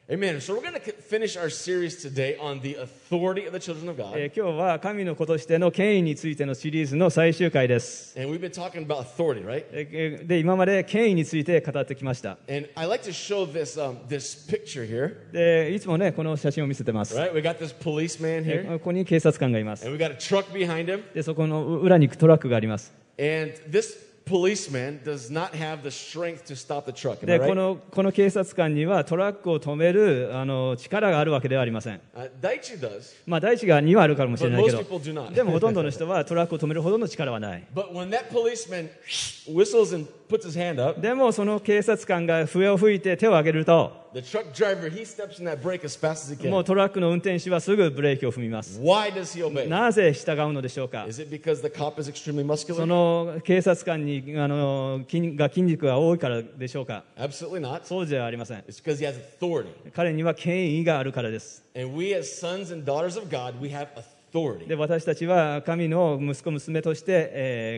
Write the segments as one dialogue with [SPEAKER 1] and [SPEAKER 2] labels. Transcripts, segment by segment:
[SPEAKER 1] Amen. So we're going to finish our series today on the authority of the children of God.
[SPEAKER 2] 今日は神の子としての権威についてのシリーズの最終回です。
[SPEAKER 1] And we've been talking about authority, right?
[SPEAKER 2] で、今まで権威について語ってきました。
[SPEAKER 1] And I like to show this picture here.
[SPEAKER 2] で、いつもね、この写真を見せてます。
[SPEAKER 1] Right? We got this policeman here.
[SPEAKER 2] ここに警察官がいます。
[SPEAKER 1] And we got a truck behind him.
[SPEAKER 2] で、そこの裏にトラックがあります。
[SPEAKER 1] And this policeman does not have the strength to stop the truck. Am I
[SPEAKER 2] で、
[SPEAKER 1] right?
[SPEAKER 2] この警察官にはトラックを止める力があるわけではありません。
[SPEAKER 1] Daichi does.
[SPEAKER 2] まあ、大地がにはあるかもしれ
[SPEAKER 1] But
[SPEAKER 2] ないけ
[SPEAKER 1] most
[SPEAKER 2] ど、
[SPEAKER 1] people do not.
[SPEAKER 2] でもほとんどの人はトラックを止めるほどの力はない。
[SPEAKER 1] But when that policeman whistles and puts his hand up,
[SPEAKER 2] でもその警察官が笛を吹いて手を挙げると、
[SPEAKER 1] the truck driver, he steps in that brake as fast as he
[SPEAKER 2] もう
[SPEAKER 1] can.
[SPEAKER 2] トラックの運転手はすぐブレーキを踏みます。
[SPEAKER 1] Why does he obey?
[SPEAKER 2] なぜ従うのでしょうか。
[SPEAKER 1] Is it because the cop is extremely
[SPEAKER 2] そ
[SPEAKER 1] muscular?
[SPEAKER 2] の警察官に筋肉が多いからでしょうか。
[SPEAKER 1] Absolutely not.
[SPEAKER 2] そうじゃありません。
[SPEAKER 1] It's because he has authority.
[SPEAKER 2] 彼には権威があるからです。
[SPEAKER 1] And we as sons and daughters of God, we have authority.
[SPEAKER 2] で、私たちは神の息子娘として、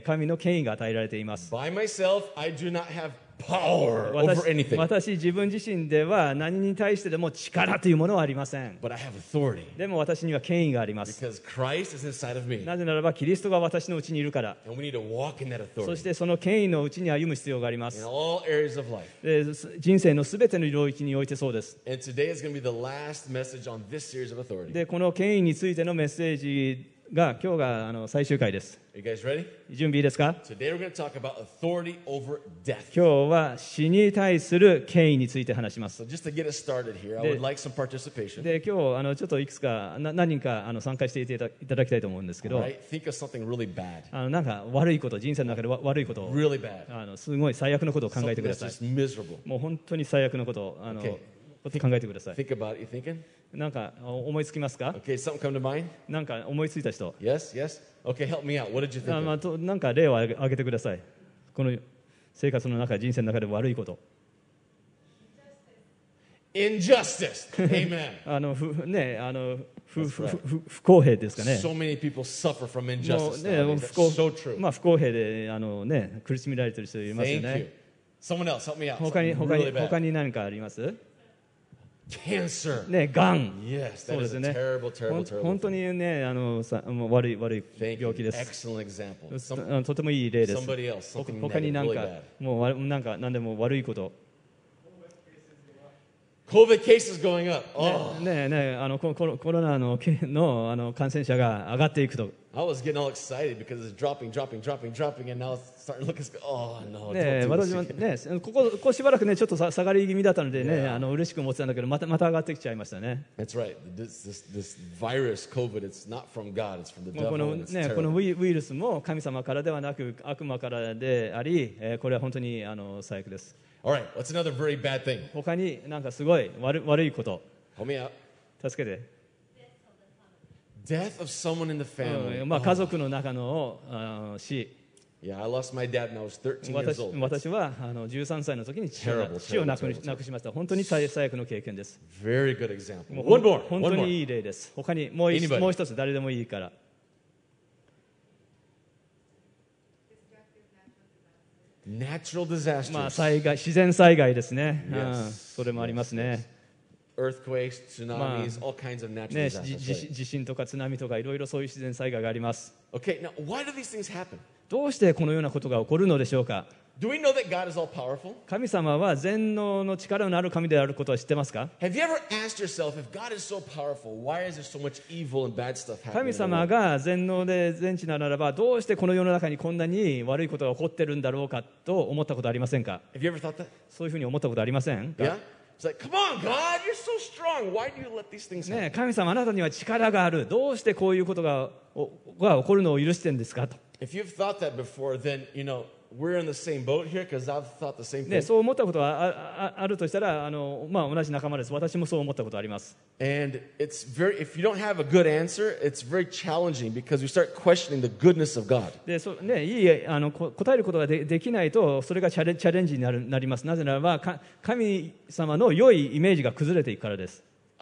[SPEAKER 2] 神の権威が与えられています。
[SPEAKER 1] By myself, I do not have power over
[SPEAKER 2] 私
[SPEAKER 1] anything.
[SPEAKER 2] 自分自身では何に対してでも力というものはありません。
[SPEAKER 1] But I have authority
[SPEAKER 2] でも私には権威があります。
[SPEAKER 1] because Christ is inside of me.
[SPEAKER 2] なぜならばキリストが私のうちにいるから。
[SPEAKER 1] And we need to walk in that
[SPEAKER 2] そ
[SPEAKER 1] authority
[SPEAKER 2] してその権威のうちに歩む必要がありま
[SPEAKER 1] in
[SPEAKER 2] す。
[SPEAKER 1] all areas of life.
[SPEAKER 2] で、人生のすべての領域においてそうです。
[SPEAKER 1] And today is going to be the last message on this series of authority.
[SPEAKER 2] で、この権威についてのメッセージが今日が最終回です。
[SPEAKER 1] Are you guys ready?
[SPEAKER 2] 準備いいですか。
[SPEAKER 1] Today we're going to talk about authority over death.
[SPEAKER 2] 今日は死に対する権威について話します。
[SPEAKER 1] So just to get us started here, I would like some participation.
[SPEAKER 2] で、今日ちょっといくつか何人か参加していただきたいと思うんですけ
[SPEAKER 1] All
[SPEAKER 2] ど、
[SPEAKER 1] right? Think of something really bad.
[SPEAKER 2] なんか悪いこと、人生の中で悪いことを
[SPEAKER 1] Really bad.
[SPEAKER 2] すごい最悪のことを考え
[SPEAKER 1] Something
[SPEAKER 2] てくだ
[SPEAKER 1] that's
[SPEAKER 2] さい。
[SPEAKER 1] just miserable.
[SPEAKER 2] もう本当に最悪のことを
[SPEAKER 1] Okay.
[SPEAKER 2] 考えてください。
[SPEAKER 1] Think about it. You thinking?
[SPEAKER 2] なんか思いつきますか。
[SPEAKER 1] Okay, something come to mind?
[SPEAKER 2] なんか思いついた人。
[SPEAKER 1] Yes, yes. Okay, help me out. What did you think
[SPEAKER 2] ま
[SPEAKER 1] of?
[SPEAKER 2] あ、なんか例を挙げてください。この生活の中、人生の中で悪いこと。
[SPEAKER 1] Injustice. Amen.
[SPEAKER 2] 不公平ですかね。
[SPEAKER 1] So many people suffer from
[SPEAKER 2] もう
[SPEAKER 1] injustice.
[SPEAKER 2] ね、
[SPEAKER 1] nowadays.
[SPEAKER 2] 不公
[SPEAKER 1] That's so true.
[SPEAKER 2] まあ不公平で苦しめられている人いますよ
[SPEAKER 1] Thank
[SPEAKER 2] ね
[SPEAKER 1] you.。Someone else, help me out.
[SPEAKER 2] 他に
[SPEAKER 1] Something really bad.
[SPEAKER 2] 何かあります？
[SPEAKER 1] Cancer.
[SPEAKER 2] ね、がん。
[SPEAKER 1] Yes,
[SPEAKER 2] そ
[SPEAKER 1] that
[SPEAKER 2] うで
[SPEAKER 1] is
[SPEAKER 2] す
[SPEAKER 1] a
[SPEAKER 2] ね。
[SPEAKER 1] terrible, terrible, terrible.
[SPEAKER 2] 本当にね、もう悪い
[SPEAKER 1] Thank
[SPEAKER 2] 病気
[SPEAKER 1] you.
[SPEAKER 2] です。
[SPEAKER 1] Excellent example.
[SPEAKER 2] とてもいい例です。
[SPEAKER 1] Somebody else, something
[SPEAKER 2] 他に
[SPEAKER 1] negative,
[SPEAKER 2] なん
[SPEAKER 1] really
[SPEAKER 2] か
[SPEAKER 1] bad.
[SPEAKER 2] もう何でも悪いこと。
[SPEAKER 1] COVID cases going up. Oh,
[SPEAKER 2] コロナの感染者が上がっていくと。
[SPEAKER 1] I was getting all excited because it's dropping, and now it's starting to look. Oh no!
[SPEAKER 2] ね、
[SPEAKER 1] Don't do
[SPEAKER 2] 私も
[SPEAKER 1] this.
[SPEAKER 2] ね、ここしばらくね、ちょっと下がり気味だったのでね、嬉しく思ってたんだけど、また上がってきちゃいましたね。
[SPEAKER 1] That's right. This virus, COVID, it's not from God. It's from the
[SPEAKER 2] もう
[SPEAKER 1] devil. and it's
[SPEAKER 2] この
[SPEAKER 1] terrible.
[SPEAKER 2] ウイルスも神様からではなく悪魔からであり、これは本当に最悪です。
[SPEAKER 1] All right. What's another very bad thing?
[SPEAKER 2] 他になんかすごい悪いこと、
[SPEAKER 1] Help me out.
[SPEAKER 2] 助けて。
[SPEAKER 1] Death of someone in the family.
[SPEAKER 2] まあ家族の中の死。
[SPEAKER 1] Yeah, I lost my dad when I was 13 years old.
[SPEAKER 2] 私は13歳の時に父を亡くしました。本当に最悪の経験です。
[SPEAKER 1] Very good example.
[SPEAKER 2] もう
[SPEAKER 1] One more.
[SPEAKER 2] 本
[SPEAKER 1] One
[SPEAKER 2] 当に
[SPEAKER 1] more.
[SPEAKER 2] いい例です。他にもう
[SPEAKER 1] Anybody?
[SPEAKER 2] 一つ誰でもいいから。
[SPEAKER 1] Natural disasters.
[SPEAKER 2] まあ自然災害ですね。
[SPEAKER 1] Yes.
[SPEAKER 2] それもありますね。
[SPEAKER 1] Earthquakes, tsunamis, all kinds of natural
[SPEAKER 2] ね、
[SPEAKER 1] disasters.
[SPEAKER 2] 地震とか津波とかいろいろそういう自然災害があります。
[SPEAKER 1] Okay, now why do these things happen?
[SPEAKER 2] どうしてこのようなことが起こるのでしょうか。
[SPEAKER 1] Do we know that God is all powerful?
[SPEAKER 2] 神様は全能の力のある神であることは知ってますか。
[SPEAKER 1] Have you ever asked yourself, if God is so powerful, why is there so much evil and bad stuff happening?
[SPEAKER 2] 神
[SPEAKER 1] in the
[SPEAKER 2] 様
[SPEAKER 1] world?
[SPEAKER 2] が全能で全知ならばどうしてこの世の中にこんなに悪いことが起こってるんだろうかと思ったことありませんか。
[SPEAKER 1] Have you ever thought that?
[SPEAKER 2] そういうふうに思ったことありませんか。
[SPEAKER 1] Yeah? It's like, come on, God, you're so strong. Why do you let these things happen?
[SPEAKER 2] ね、神様あなたには力がある。どうしてこういうことが起こるのを許してるんですかと。
[SPEAKER 1] If you've thought that before, then, we're in the same boat here because I've thought the same
[SPEAKER 2] ね、
[SPEAKER 1] thing.
[SPEAKER 2] そう思ったことがあるとしたらまあ、同じ仲間です。私もそう思ったことあります。
[SPEAKER 1] And if you don't have a good answer, it's very challenging because you start questioning the goodness of God.
[SPEAKER 2] でいい答えることができないとそれがチャレンジになります。なぜならば神様の良いイメージが崩れていくからです。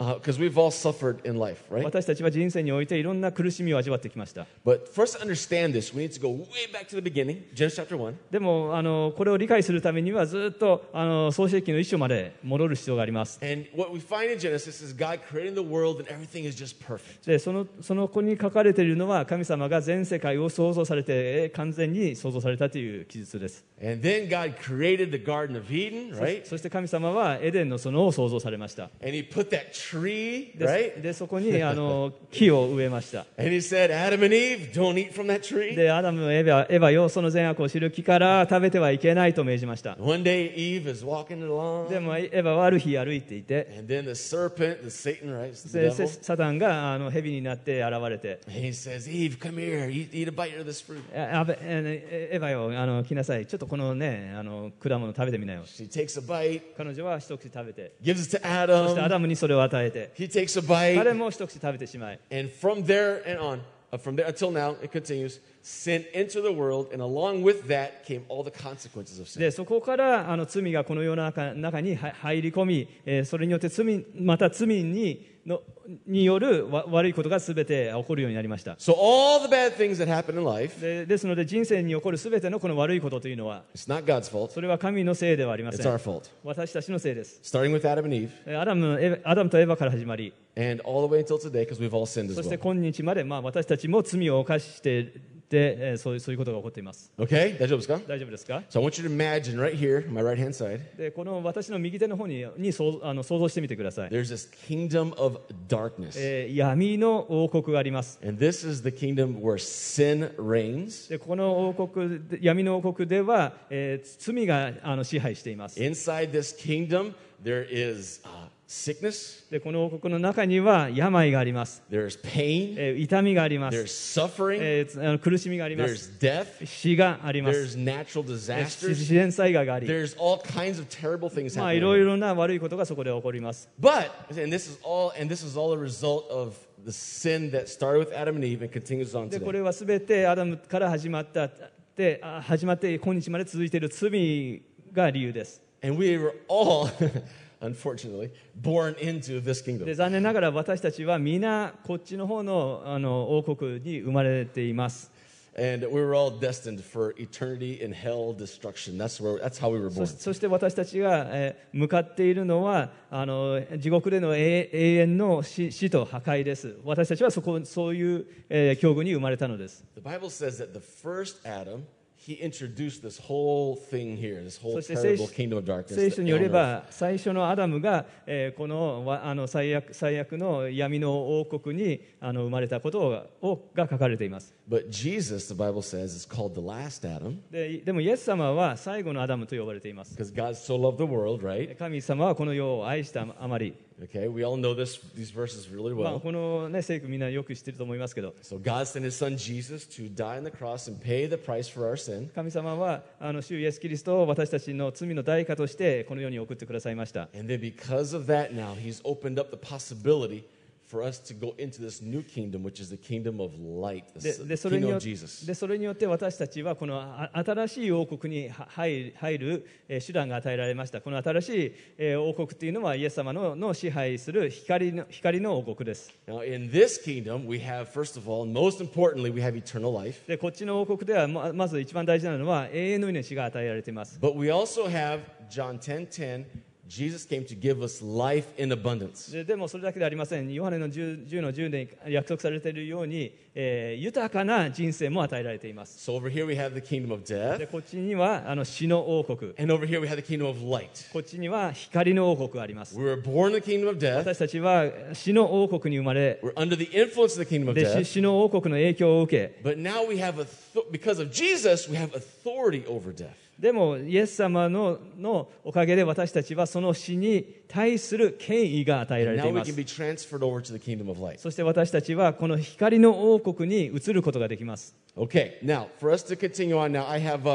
[SPEAKER 1] Because we've all suffered in life, right?
[SPEAKER 2] 私たちは人生においていろんな苦しみを味わってきました。
[SPEAKER 1] But for us to understand this, we need to go way back to the beginning, Genesis chapter 1.
[SPEAKER 2] でもこれを理解するためにはずっと創世記の一章まで戻る必要があります。
[SPEAKER 1] And what we find in Genesis is God creating the world and everything is just perfect.
[SPEAKER 2] でその子に書かれているのは神様が全世界を創造されて完全に創造されたという記述です。
[SPEAKER 1] And then God created the Garden of Eden, right?
[SPEAKER 2] そして神様はエデンの園を創造されました。
[SPEAKER 1] And He put that tree,
[SPEAKER 2] で
[SPEAKER 1] right?
[SPEAKER 2] でそこに木を植えました。
[SPEAKER 1] And He said, Adam and Eve, don't eat from that tree.
[SPEAKER 2] でアダムエヴァよその善悪を知る木から食べてはいけないと命じました。
[SPEAKER 1] One day Eve is walking along.
[SPEAKER 2] でもエヴァはある日歩いていて、
[SPEAKER 1] And then the serpent, the Satan, right? The
[SPEAKER 2] で
[SPEAKER 1] devil.
[SPEAKER 2] サタンが蛇になって現れて、
[SPEAKER 1] And he says, Eve, come here, eat a bite of this fruit.
[SPEAKER 2] エヴァよ来なさい、ちょっとこのね果物食べてみなよ。
[SPEAKER 1] She takes a bite,
[SPEAKER 2] 彼女は一口食べて、
[SPEAKER 1] gives it to
[SPEAKER 2] そしてア
[SPEAKER 1] Adam.
[SPEAKER 2] ダムにそれを与えて、
[SPEAKER 1] He takes a
[SPEAKER 2] 彼
[SPEAKER 1] bite.
[SPEAKER 2] も一口食べてしまい、
[SPEAKER 1] And from there and on, from there until now, it continues, sin entered the world, and along with that came all the consequences of sin.
[SPEAKER 2] でそこから罪がこの世の中に入り込み、それによってまた罪による悪いことが全て起こるようになりました。
[SPEAKER 1] So all the bad things that happen in life,
[SPEAKER 2] ですので人生に起こる全てのこの悪いことというのは、
[SPEAKER 1] it's not God's fault,
[SPEAKER 2] それは神のせいではありませ
[SPEAKER 1] it's our
[SPEAKER 2] ん。
[SPEAKER 1] fault.
[SPEAKER 2] 私たちのせいです。
[SPEAKER 1] Starting with Adam and Eve,
[SPEAKER 2] アダムとエヴァから始まり、
[SPEAKER 1] and all the way until today, because we've all sinned
[SPEAKER 2] そ
[SPEAKER 1] as
[SPEAKER 2] して
[SPEAKER 1] well.
[SPEAKER 2] 今日まで、私たちも罪を犯していて、そういうことが起こっています。
[SPEAKER 1] Okay? 大丈夫ですか?
[SPEAKER 2] 大丈夫ですか？
[SPEAKER 1] So I want you to imagine right here, my right hand side,
[SPEAKER 2] でこの私の右手の方に想像してみてください。
[SPEAKER 1] there's this kingdom of darkness.
[SPEAKER 2] 闇の王国があります。
[SPEAKER 1] And this is the kingdom where sin reigns.
[SPEAKER 2] でこの闇の王国では、罪が支配しています。
[SPEAKER 1] Inside this kingdom, there is sickness,
[SPEAKER 2] でこの王国の中には病があります。
[SPEAKER 1] there's pain,
[SPEAKER 2] 痛みがありま
[SPEAKER 1] there's
[SPEAKER 2] す。
[SPEAKER 1] suffering,
[SPEAKER 2] 苦しみがありま
[SPEAKER 1] there's
[SPEAKER 2] す。
[SPEAKER 1] death,
[SPEAKER 2] 死があります。
[SPEAKER 1] there's natural
[SPEAKER 2] 自
[SPEAKER 1] disasters,
[SPEAKER 2] 然災害があり、
[SPEAKER 1] there's all kinds of terrible things
[SPEAKER 2] い
[SPEAKER 1] happening.
[SPEAKER 2] ろいろな悪いことがそこで起こります。
[SPEAKER 1] But, and this is all a result of the sin that started with Adam and Eve and continues on
[SPEAKER 2] でこ
[SPEAKER 1] today.
[SPEAKER 2] れはすべてアダムから始まって今日まで続いている罪が理由です。
[SPEAKER 1] And we were all, unfortunately, born into this
[SPEAKER 2] で
[SPEAKER 1] kingdom.
[SPEAKER 2] 残念ながら私たちは皆こっちの方の王国に生まれています。
[SPEAKER 1] And we were all destined for eternity in hell destruction. That's how we were born.
[SPEAKER 2] そして私たちが向かっているのは地獄での永遠の死と破壊です。私たちはそういう境遇に生まれたのです。
[SPEAKER 1] The Bible says that the first Adam, he introduced this whole thing here, this whole
[SPEAKER 2] そして
[SPEAKER 1] terrible kingdom of darkness.
[SPEAKER 2] 聖書によれ
[SPEAKER 1] on earth.
[SPEAKER 2] ば最初のアダムがこの最悪の闇の王国に生まれたことが書かれています。
[SPEAKER 1] But Jesus, the Bible says, is called the last Adam
[SPEAKER 2] でもイエス様は最後のアダムと呼ばれています。
[SPEAKER 1] because God so loved the world, right?
[SPEAKER 2] 神様はこの世を愛したあまり、
[SPEAKER 1] Okay, we all know these verses really
[SPEAKER 2] まあ、
[SPEAKER 1] well.
[SPEAKER 2] この、聖句みんなよく知ってると思いますけど、
[SPEAKER 1] So God sent his son Jesus to die on the cross and pay the price for our sin.
[SPEAKER 2] 神様は主イエスキリストを私たちの罪の代価としてこの世に送ってくださいました。
[SPEAKER 1] And then because of that now, he's opened up the possibility for us to go into this new kingdom, which is the kingdom of light,
[SPEAKER 2] で
[SPEAKER 1] the
[SPEAKER 2] それに
[SPEAKER 1] kingdom
[SPEAKER 2] よ
[SPEAKER 1] of
[SPEAKER 2] って
[SPEAKER 1] Jesus.
[SPEAKER 2] それによって私たちはこの新しい王国に入る手段が与えられました。この新しい王国というのはイエス様の支配する光の王国です。
[SPEAKER 1] Now, in this kingdom, we have, first of all, and most importantly, we have eternal life.
[SPEAKER 2] でこっちの王国ではまず一番大事なのは永遠の命が与えられています。
[SPEAKER 1] But we also have John 10:10. Jesus came to give us life in abundance.
[SPEAKER 2] でもそれだけではありません。ヨハネの 10の10で約束されているように、豊かな人生も与えられています。
[SPEAKER 1] So over here we have the kingdom of death.
[SPEAKER 2] でこっちには死の王国、
[SPEAKER 1] And over here we have the kingdom of light.
[SPEAKER 2] こっちには光の王国があります。
[SPEAKER 1] We were born in the kingdom of death.
[SPEAKER 2] 私たちは死の王国に生まれ、
[SPEAKER 1] We're under the influence of the kingdom of
[SPEAKER 2] で
[SPEAKER 1] death.
[SPEAKER 2] 死の王国の影響を受け、
[SPEAKER 1] But now we have, because of Jesus, we have authority over death.
[SPEAKER 2] でもイエス様のおかげで私たちはその死に対する権威が与えられて
[SPEAKER 1] Now
[SPEAKER 2] い
[SPEAKER 1] we
[SPEAKER 2] ま
[SPEAKER 1] can
[SPEAKER 2] す。
[SPEAKER 1] be transferred over to the kingdom of light.
[SPEAKER 2] そして私たちはこの光の王国に移ることができます。
[SPEAKER 1] Okay, now for us to continue on now, I have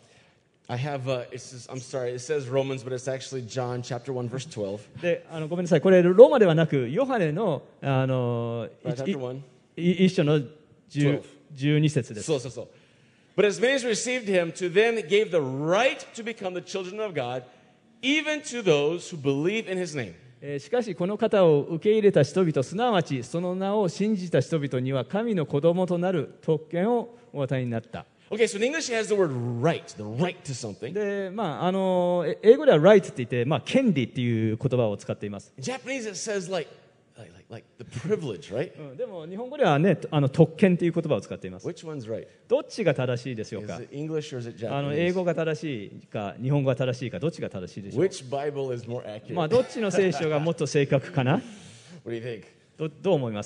[SPEAKER 1] it says Romans, but it's actually John chapter 1 verse 12.
[SPEAKER 2] でごめんなさい、これローマではなくヨハネの
[SPEAKER 1] Chapter 1.
[SPEAKER 2] 一章の12節です。
[SPEAKER 1] So. But as many as received him, to them he gave the right to become the children of God, even to those who believe in his name.
[SPEAKER 2] しかしこの方を受け入れた人々、すなわちその名を信じた人々には神の子供となる特権をお与えになった。
[SPEAKER 1] Okay, so in English it has the word right, the right to something.
[SPEAKER 2] で、英語では right って言って、権利っていう言葉を使っています。
[SPEAKER 1] In Japanese it says like the privilege, right?
[SPEAKER 2] でも日本語ではね、特権っていう言葉を使っています。
[SPEAKER 1] Which one's right?
[SPEAKER 2] どっちが正しいでしょう
[SPEAKER 1] Is
[SPEAKER 2] か。
[SPEAKER 1] it English or is it
[SPEAKER 2] 英
[SPEAKER 1] Japanese?
[SPEAKER 2] 語が正しいか日本語が正しいか、どっちが正しいでしょう。
[SPEAKER 1] Which Bible is more accurate?
[SPEAKER 2] どっちの聖書がもっと正確かな。
[SPEAKER 1] What do you think?
[SPEAKER 2] どう思います？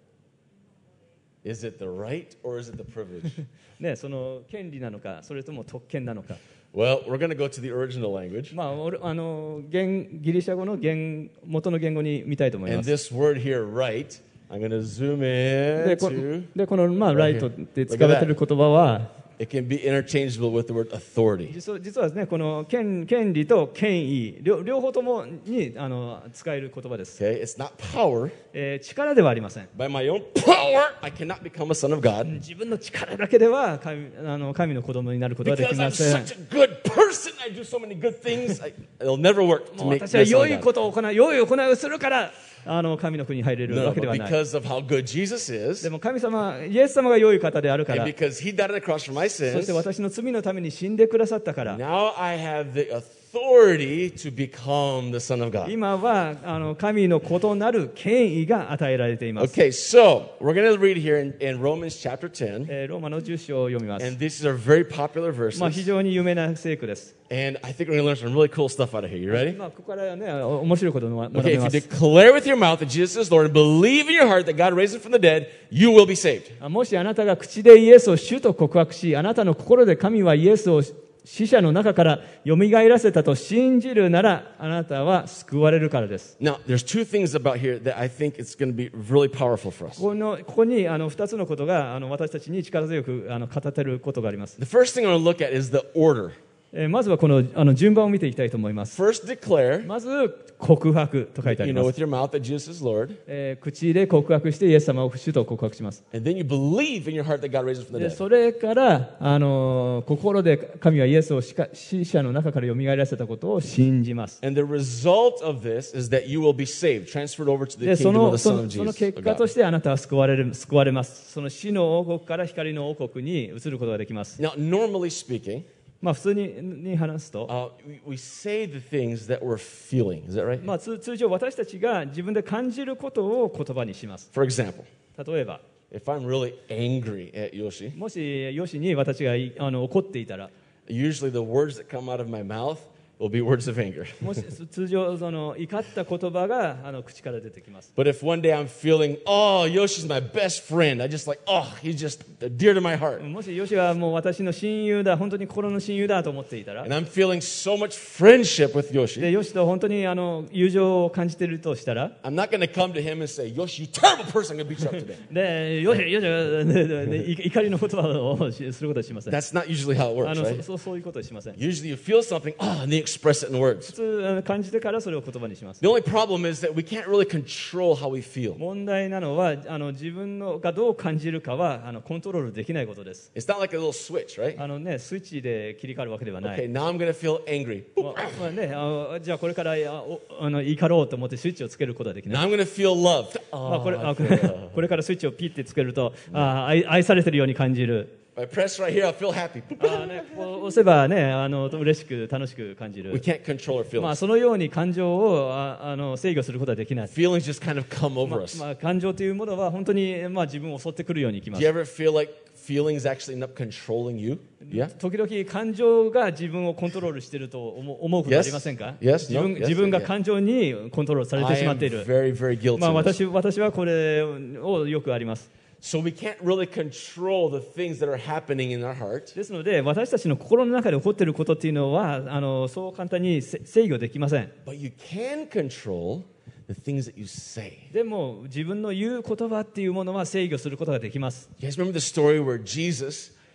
[SPEAKER 1] Is it the right or is it the privilege?
[SPEAKER 2] ね、その権利なのか、それとも特権なのか。
[SPEAKER 1] Well, we're going to go to the original language.
[SPEAKER 2] ギリシャ語の元の言語に見たいと思いま
[SPEAKER 1] And
[SPEAKER 2] す。
[SPEAKER 1] this word here, right, I'm going to zoom
[SPEAKER 2] で
[SPEAKER 1] in
[SPEAKER 2] こ
[SPEAKER 1] to...
[SPEAKER 2] この、ライトって使われている言葉は、
[SPEAKER 1] It can be interchangeable with the word authority.
[SPEAKER 2] 実はですね、この権利と権威、両方ともに使える言葉です。
[SPEAKER 1] Okay, it's not power.
[SPEAKER 2] 力ではありません。
[SPEAKER 1] By my own power, I cannot become a son of God.
[SPEAKER 2] 自分の力だけでは神の子供になることはでき
[SPEAKER 1] Because
[SPEAKER 2] ま
[SPEAKER 1] I'm
[SPEAKER 2] せん。
[SPEAKER 1] such a good person, I do so many good things. It'll never work to
[SPEAKER 2] もう
[SPEAKER 1] make
[SPEAKER 2] 私は
[SPEAKER 1] me a
[SPEAKER 2] 良
[SPEAKER 1] son
[SPEAKER 2] い
[SPEAKER 1] of
[SPEAKER 2] こ
[SPEAKER 1] God.
[SPEAKER 2] とを行い、良い行いをするから神の国に入れる
[SPEAKER 1] No,
[SPEAKER 2] わけで
[SPEAKER 1] but
[SPEAKER 2] はない。
[SPEAKER 1] because of how good Jesus is,
[SPEAKER 2] でも神様、イエス様が良い方であるか
[SPEAKER 1] and
[SPEAKER 2] ら、
[SPEAKER 1] because He died on the cross for my
[SPEAKER 2] そし
[SPEAKER 1] sins,
[SPEAKER 2] て私の罪のために死んでくださったから、
[SPEAKER 1] now I have the authority to become the son of God.
[SPEAKER 2] 今は神の子となる権威が与えられています。
[SPEAKER 1] Okay, so we're going to read here in Romans chapter 10,
[SPEAKER 2] ローマの10章を読みます。
[SPEAKER 1] and these are very popular
[SPEAKER 2] 非
[SPEAKER 1] verses,
[SPEAKER 2] 常に有名な聖句です。
[SPEAKER 1] and I think we're going to learn some really cool stuff out of here. You ready?
[SPEAKER 2] ここからね、面白いことを学
[SPEAKER 1] Okay,
[SPEAKER 2] べ
[SPEAKER 1] if
[SPEAKER 2] ま
[SPEAKER 1] you
[SPEAKER 2] す。
[SPEAKER 1] declare with your mouth that Jesus is Lord and believe in your heart that God raised him from the dead, you will be saved.
[SPEAKER 2] もしあなたが口でイエスを主と告白し、あなたの心で神はイエスを死者の中から蘇らせたと信じるなら、あなたは救われるからです。
[SPEAKER 1] Now, there's two things about here that I think it's going to be really powerful for us.
[SPEAKER 2] ここに2つのことが私たちに力強く語っていることがあります。
[SPEAKER 1] The first thing I want to look at is the order.
[SPEAKER 2] まずはこの順番を見ていきたいと思います。
[SPEAKER 1] First, declare,
[SPEAKER 2] まず告白と書いてあり
[SPEAKER 1] you know,
[SPEAKER 2] ます。
[SPEAKER 1] with your mouth that Jesus is Lord,
[SPEAKER 2] 口で告白してイエス様を主と告白します。
[SPEAKER 1] and then you believe in your heart that God raised him from the
[SPEAKER 2] で
[SPEAKER 1] dead.
[SPEAKER 2] それから心で神はイエスを死者の中から蘇らせたことを信じます。
[SPEAKER 1] And the result of this is that you will be saved, transferred over to the
[SPEAKER 2] で
[SPEAKER 1] kingdom of the
[SPEAKER 2] そ
[SPEAKER 1] Son
[SPEAKER 2] の
[SPEAKER 1] of
[SPEAKER 2] その
[SPEAKER 1] Jesus.
[SPEAKER 2] 結果としてあなたは救われます。その死の王国から光の王国に移ることができます。
[SPEAKER 1] Now, normally speaking,
[SPEAKER 2] 普通に話すと、
[SPEAKER 1] we say the things that we're feeling. Is that right?
[SPEAKER 2] 通常私たちが自分で感じることを言葉にします。
[SPEAKER 1] For example,
[SPEAKER 2] 例えば、
[SPEAKER 1] if I'm really angry at Yoshi,
[SPEAKER 2] もしヨシに私が怒っていたら、
[SPEAKER 1] usually the words that come out of my mouth will be words of anger.
[SPEAKER 2] もし通常怒った言葉が口から出てきます。
[SPEAKER 1] But if one day I'm feeling, oh, Yoshi's my best friend, I just like, oh, he's just dear to my heart.
[SPEAKER 2] もしヨシはもう私の親友だ、本当に心の親友だと思っていたら、
[SPEAKER 1] And I'm feeling so much friendship with
[SPEAKER 2] で
[SPEAKER 1] Yoshi,
[SPEAKER 2] ヨシと本当に友情を感じているとしたら、
[SPEAKER 1] I'm not going to come to him and say, Yoshi, you terrible person, I'm going to beat you up today.
[SPEAKER 2] でヨシ怒りの言葉をすることはしません。
[SPEAKER 1] That's not usually how it works, right?
[SPEAKER 2] そういうことはしません。
[SPEAKER 1] Usually you feel something, oh, and then you express it in words.
[SPEAKER 2] 普通感じてからそれを言葉にします。
[SPEAKER 1] The only problem is that we can't really control how we feel.
[SPEAKER 2] 問題なのは自分がどう感じるかはコントロールできないことです。
[SPEAKER 1] It's not like a little switch, right?
[SPEAKER 2] スイッチで切り替わるわけではない。
[SPEAKER 1] Okay, now I'm going to feel angry.
[SPEAKER 2] じゃあこれから怒ろうと思ってスイッチをつけることはでき
[SPEAKER 1] Now
[SPEAKER 2] ない。
[SPEAKER 1] I'm going to feel loved.
[SPEAKER 2] これからスイッチをピッてつけると愛されてるように感じる。
[SPEAKER 1] If I press right here, I'll feel happy.
[SPEAKER 2] こう押せばね嬉しく楽しく感じ
[SPEAKER 1] We
[SPEAKER 2] る。
[SPEAKER 1] can't control our feelings.
[SPEAKER 2] そのように感情を制御することはできない。
[SPEAKER 1] Feelings just kind of come over us.
[SPEAKER 2] 感情というものは本当に自分を襲ってくるようにいきま
[SPEAKER 1] Do
[SPEAKER 2] す
[SPEAKER 1] you。ever feel like feelings actually end up controlling you? Yeah?
[SPEAKER 2] 時々感情が自分をコントロールしていると思うことありませんか？
[SPEAKER 1] Yes. No? Yes.
[SPEAKER 2] 自分が感情にコントロールされて
[SPEAKER 1] I
[SPEAKER 2] しま
[SPEAKER 1] am
[SPEAKER 2] っている。
[SPEAKER 1] very, very guilty. of this.
[SPEAKER 2] 私はこれをよくあります。
[SPEAKER 1] So we can't really control the things that are happening in our heart.
[SPEAKER 2] ですので私たちの心の中で起こっていることっていうのはそう簡単に制御できません。
[SPEAKER 1] But you can control the things that you say.
[SPEAKER 2] でも自分の言う言葉っていうものは制御することができます。
[SPEAKER 1] You guys remember the story where Jesus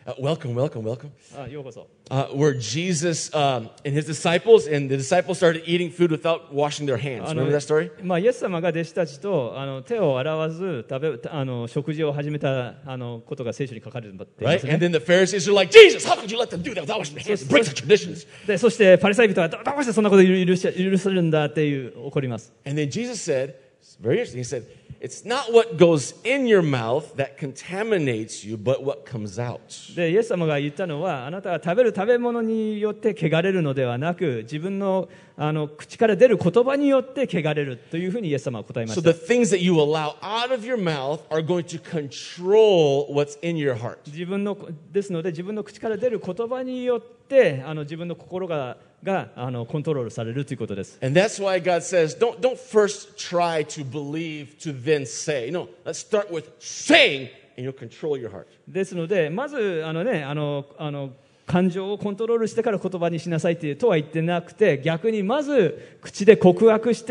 [SPEAKER 1] welcome, welcome, welcome.
[SPEAKER 2] ようこそ。
[SPEAKER 1] Where Jesus and his disciples, and the disciples started eating food without washing their hands. Remember that story?
[SPEAKER 2] イエス様が弟子たちと手を洗わず食事を始めたことが聖書に書かれています
[SPEAKER 1] Right?
[SPEAKER 2] ね。
[SPEAKER 1] And then the Pharisees are like, Jesus, how could you let them do that without washing their hands? Break the traditions.
[SPEAKER 2] でそしてパリサイ人はどうしてそんなことを許されるんだって怒ります。
[SPEAKER 1] And then Jesus said, it's very interesting, he said, it's not what goes in your mouth that contaminates you, but what comes out.
[SPEAKER 2] でイエス様が言ったのは、あなたが食べる食べ物によって汚れるのではなく、自分の口から出る言葉によって汚れるというふうにイエス様は答えま
[SPEAKER 1] So
[SPEAKER 2] した。
[SPEAKER 1] the things that you allow out of your mouth are going to control what's in your heart.
[SPEAKER 2] ですので、自分の口から出る言葉によって自分の心がコントロールされるということです。
[SPEAKER 1] And that's why God says, don't first try to believe to then say. No, let's start with saying, and you'll control your heart.
[SPEAKER 2] ですので、まず感情をコントロールしてから言葉にしなさいとは言ってなくて、逆にまず口で告白して、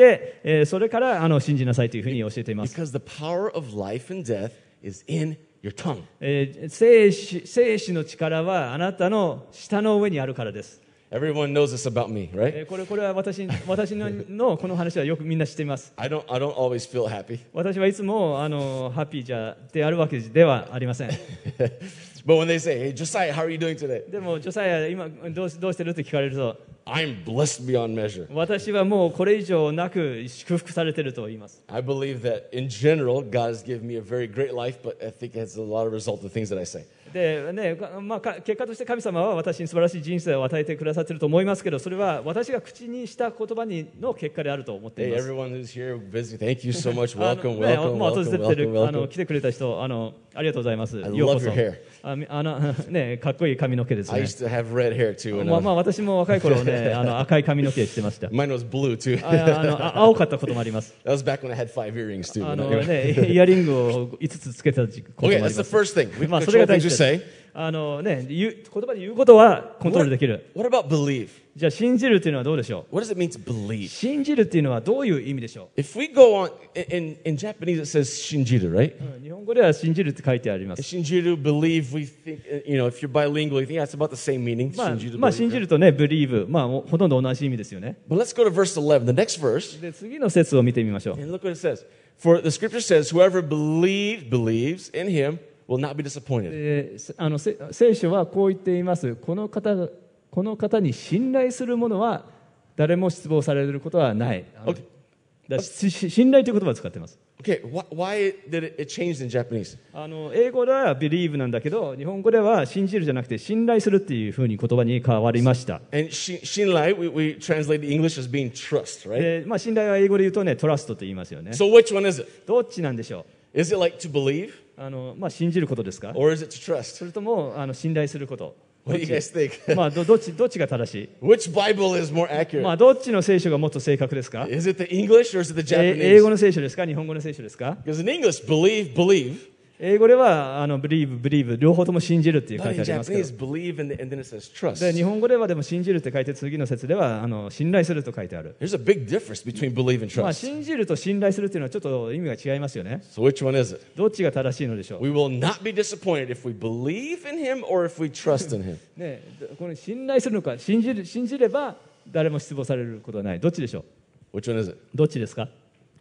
[SPEAKER 2] それから信じなさいというふうに教えています。
[SPEAKER 1] Because the power of life and death is in your tongue.
[SPEAKER 2] 生死の力はあなたの舌の上にあるからです。
[SPEAKER 1] Everyone knows this about me, right?
[SPEAKER 2] これは私のこの話はよくみんな知っています。
[SPEAKER 1] I don't always feel happy.
[SPEAKER 2] 私はいつもハッピーであるわけではありません。
[SPEAKER 1] But when they say, hey, Josiah, how are you doing today?
[SPEAKER 2] でもジョサイア今どうしてるって聞かれると、
[SPEAKER 1] I'm blessed beyond measure.
[SPEAKER 2] 私はもうこれ以上なく祝福されていると言います。
[SPEAKER 1] I believe that in general, God has given me a very great life, but I think it's a lot of result of things that I say.
[SPEAKER 2] でね結果として神様は私に素晴らしい人生を与えてくださっていると思いますけど、それは私が口にした言葉の結果であると思ってい
[SPEAKER 1] Hey,
[SPEAKER 2] ます。
[SPEAKER 1] everyone who's here, visiting, thank you so much. Welcome,
[SPEAKER 2] ね
[SPEAKER 1] welcome,
[SPEAKER 2] 訪
[SPEAKER 1] welcome,
[SPEAKER 2] れてる
[SPEAKER 1] welcome, welcome.
[SPEAKER 2] 来てくれた人ありがとうございます。
[SPEAKER 1] I
[SPEAKER 2] ようこ
[SPEAKER 1] love
[SPEAKER 2] そ
[SPEAKER 1] your hair.
[SPEAKER 2] ねかっこいい髪の毛ですね。
[SPEAKER 1] I used to have red hair too. And
[SPEAKER 2] 私も若い頃ね赤い髪の毛してました。
[SPEAKER 1] mine was blue too.
[SPEAKER 2] 青かったこともあります。
[SPEAKER 1] That was back when I had 5 earrings too.
[SPEAKER 2] イヤリングを5つつけたこともあ
[SPEAKER 1] Okay,
[SPEAKER 2] りま
[SPEAKER 1] that's the
[SPEAKER 2] す。
[SPEAKER 1] first thing. We
[SPEAKER 2] ま
[SPEAKER 1] can
[SPEAKER 2] あそれ
[SPEAKER 1] control
[SPEAKER 2] が大
[SPEAKER 1] things
[SPEAKER 2] 事
[SPEAKER 1] we
[SPEAKER 2] です
[SPEAKER 1] say.
[SPEAKER 2] 言葉で言うことはコントロールできる。
[SPEAKER 1] What about believe?
[SPEAKER 2] じゃあ信じるというのはどうでしょ
[SPEAKER 1] What does it mean to believe?
[SPEAKER 2] う。信じるっていうのはどういう意味でしょ
[SPEAKER 1] If we go on, in Japanese it says shinjiru, right?
[SPEAKER 2] う。日本語では信じるって書いてあります。
[SPEAKER 1] Shinjiru, believe, we think, if you're bilingual, you think it's about the same meaning. Shinjiru,
[SPEAKER 2] 信
[SPEAKER 1] believe.
[SPEAKER 2] じるとね、believe、ほとんど同じ意味ですよね。
[SPEAKER 1] But let's go to verse 11, the next verse,
[SPEAKER 2] で、次の節を見てみましょう。
[SPEAKER 1] and look what it says. For the scripture says, whoever believes in him will not be disappointed.
[SPEAKER 2] 聖書はこう言っています。この方に信頼する者は誰も失望されることはない。信頼という言葉を使っています。
[SPEAKER 1] Okay, why did it change in Japanese?
[SPEAKER 2] 英語では believe なんだけど、日本語では信じるじゃなくて信頼するっていうふうに言葉に変わりました。
[SPEAKER 1] And shinrai, we translate the English as being trust, right?
[SPEAKER 2] で信頼は英語で言うとね、トラストと言いますよね。
[SPEAKER 1] So which one is it?
[SPEAKER 2] どっちなんでしょ
[SPEAKER 1] Is it like to believe
[SPEAKER 2] う。信じることですか、
[SPEAKER 1] or is it to trust?
[SPEAKER 2] それとも信頼すること。
[SPEAKER 1] What do you guys think?
[SPEAKER 2] どっちが正しい？
[SPEAKER 1] Which Bible is more accurate?
[SPEAKER 2] どっちの聖書がもっと正確ですか？
[SPEAKER 1] Is it the English or is it the
[SPEAKER 2] 英語
[SPEAKER 1] Japanese?
[SPEAKER 2] の聖書ですか？日本語の聖書ですか？
[SPEAKER 1] Because in English, believe.
[SPEAKER 2] 英語ではbelieve 両方とも信じるっていう書
[SPEAKER 1] But
[SPEAKER 2] いて
[SPEAKER 1] in
[SPEAKER 2] ありますけ
[SPEAKER 1] Japanese,
[SPEAKER 2] ど、
[SPEAKER 1] believe and then it says trust.
[SPEAKER 2] で日本語ではでも信じるって書いて、次の節では信頼すると書いてある。
[SPEAKER 1] There's a big difference between believe and trust.
[SPEAKER 2] 信じると信頼するっていうのはちょっと意味が違いますよね。
[SPEAKER 1] So which one is it?
[SPEAKER 2] どっちが正しいのでしょう。
[SPEAKER 1] We will not be disappointed if we believe in him or if we trust in him.
[SPEAKER 2] ね、この信頼するのか信じれば誰も失望されることはない。どっちでしょう。
[SPEAKER 1] Which one is it?
[SPEAKER 2] どっちですか？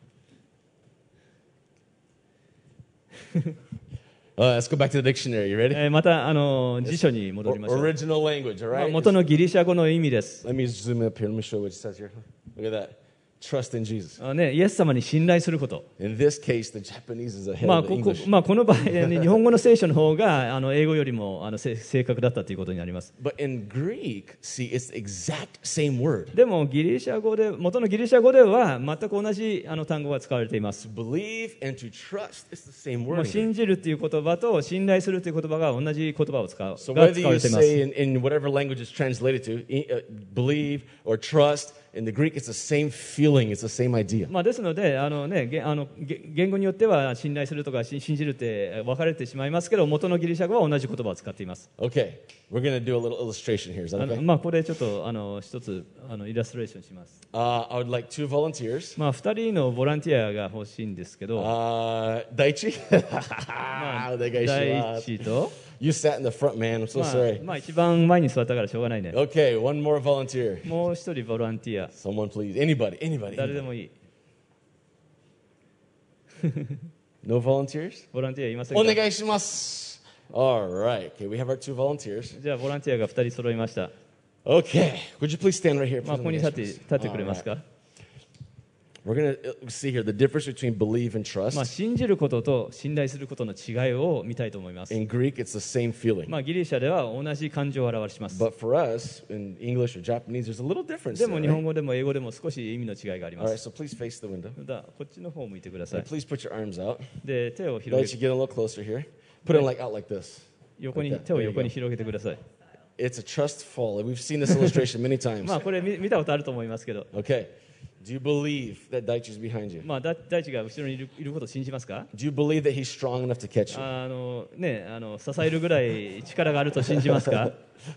[SPEAKER 1] Let's go back to the dictionary. You ready?
[SPEAKER 2] また辞書に戻りましょう。
[SPEAKER 1] Original language, all right?
[SPEAKER 2] 元のギリシャ語の意味です。
[SPEAKER 1] Let me zoom up here. Let me show you what it says here. Look at that. Trust in Jesus.
[SPEAKER 2] イエス様に信頼すること。
[SPEAKER 1] In this case, the Japanese is ahead of the English.
[SPEAKER 2] この場合、日本語の聖書の方が英語よりも正確だったということになります。
[SPEAKER 1] But in Greek, see, it's the exact same word.
[SPEAKER 2] でも元のギリシャ語では全く同じ単語が使われています。
[SPEAKER 1] To believe and to trust, it's the same
[SPEAKER 2] もう
[SPEAKER 1] word.
[SPEAKER 2] 信じるという言葉と信頼するという言葉が同じ言葉を使わ
[SPEAKER 1] So
[SPEAKER 2] れ
[SPEAKER 1] whether
[SPEAKER 2] てい
[SPEAKER 1] you
[SPEAKER 2] ます。
[SPEAKER 1] say in whatever language it's translated to, believe or trust, in the Greek, it's the same feeling, it's the same idea.
[SPEAKER 2] ですので言語によっては信頼するとか信じるって分かれてしまいますけど、元のギリシャ語は同じ言葉を使っています。
[SPEAKER 1] Okay, we're going to do a little illustration here. Is that okay?
[SPEAKER 2] これちょっと一つイラストレーションします。
[SPEAKER 1] I would like 2 volunteers.
[SPEAKER 2] 2人のボランティアが欲しいんですけど、
[SPEAKER 1] Daichi? お願いします。
[SPEAKER 2] 第一と
[SPEAKER 1] You sat in the front, man. I'm so sorry.
[SPEAKER 2] まあ一番前に座ったからしょうがないね。
[SPEAKER 1] Okay, one more volunteer.
[SPEAKER 2] もう一人ボランティア、
[SPEAKER 1] Someone, please. Anybody.
[SPEAKER 2] 誰でもいい。
[SPEAKER 1] No volunteers?
[SPEAKER 2] ボランティアいませんか？
[SPEAKER 1] Onegaishimasu. All right. Okay, we have our 2 volunteers.
[SPEAKER 2] じゃあボランティアが2人揃いました。
[SPEAKER 1] Okay. Would you please stand right here?
[SPEAKER 2] まあここに立ってくれますか？
[SPEAKER 1] We're going to see here the difference between believe and
[SPEAKER 2] まあ
[SPEAKER 1] trust.
[SPEAKER 2] 信じることと信頼することの違いを見たいと思います。
[SPEAKER 1] In Greek, it's the same feeling.
[SPEAKER 2] まあギリシャでは同じ感情を表します。
[SPEAKER 1] But for us, in English or Japanese, there's a little difference.
[SPEAKER 2] で
[SPEAKER 1] There,
[SPEAKER 2] も日
[SPEAKER 1] right?
[SPEAKER 2] 本語でも英語でも少し意味の違いがありま
[SPEAKER 1] All right,
[SPEAKER 2] す。
[SPEAKER 1] so please face the window.
[SPEAKER 2] だこっちの方を向いてくださ
[SPEAKER 1] And
[SPEAKER 2] い。
[SPEAKER 1] please put your arms out.
[SPEAKER 2] で手を
[SPEAKER 1] Let
[SPEAKER 2] 広
[SPEAKER 1] you
[SPEAKER 2] げ
[SPEAKER 1] get a little closer here. Put it like out like this.
[SPEAKER 2] 横に
[SPEAKER 1] like that.
[SPEAKER 2] 手を
[SPEAKER 1] There you
[SPEAKER 2] 横
[SPEAKER 1] go.
[SPEAKER 2] に広げてください。
[SPEAKER 1] It's a trust fall. We've seen this illustration many times.
[SPEAKER 2] まあこれ見たことあると思いますけど、
[SPEAKER 1] Okay. Do you believe that Daichi's behind you?
[SPEAKER 2] まあ大地が後ろにいることを信じますか？
[SPEAKER 1] Do you believe that he's strong enough to catch you?
[SPEAKER 2] 支えるぐらい力があると信じますか？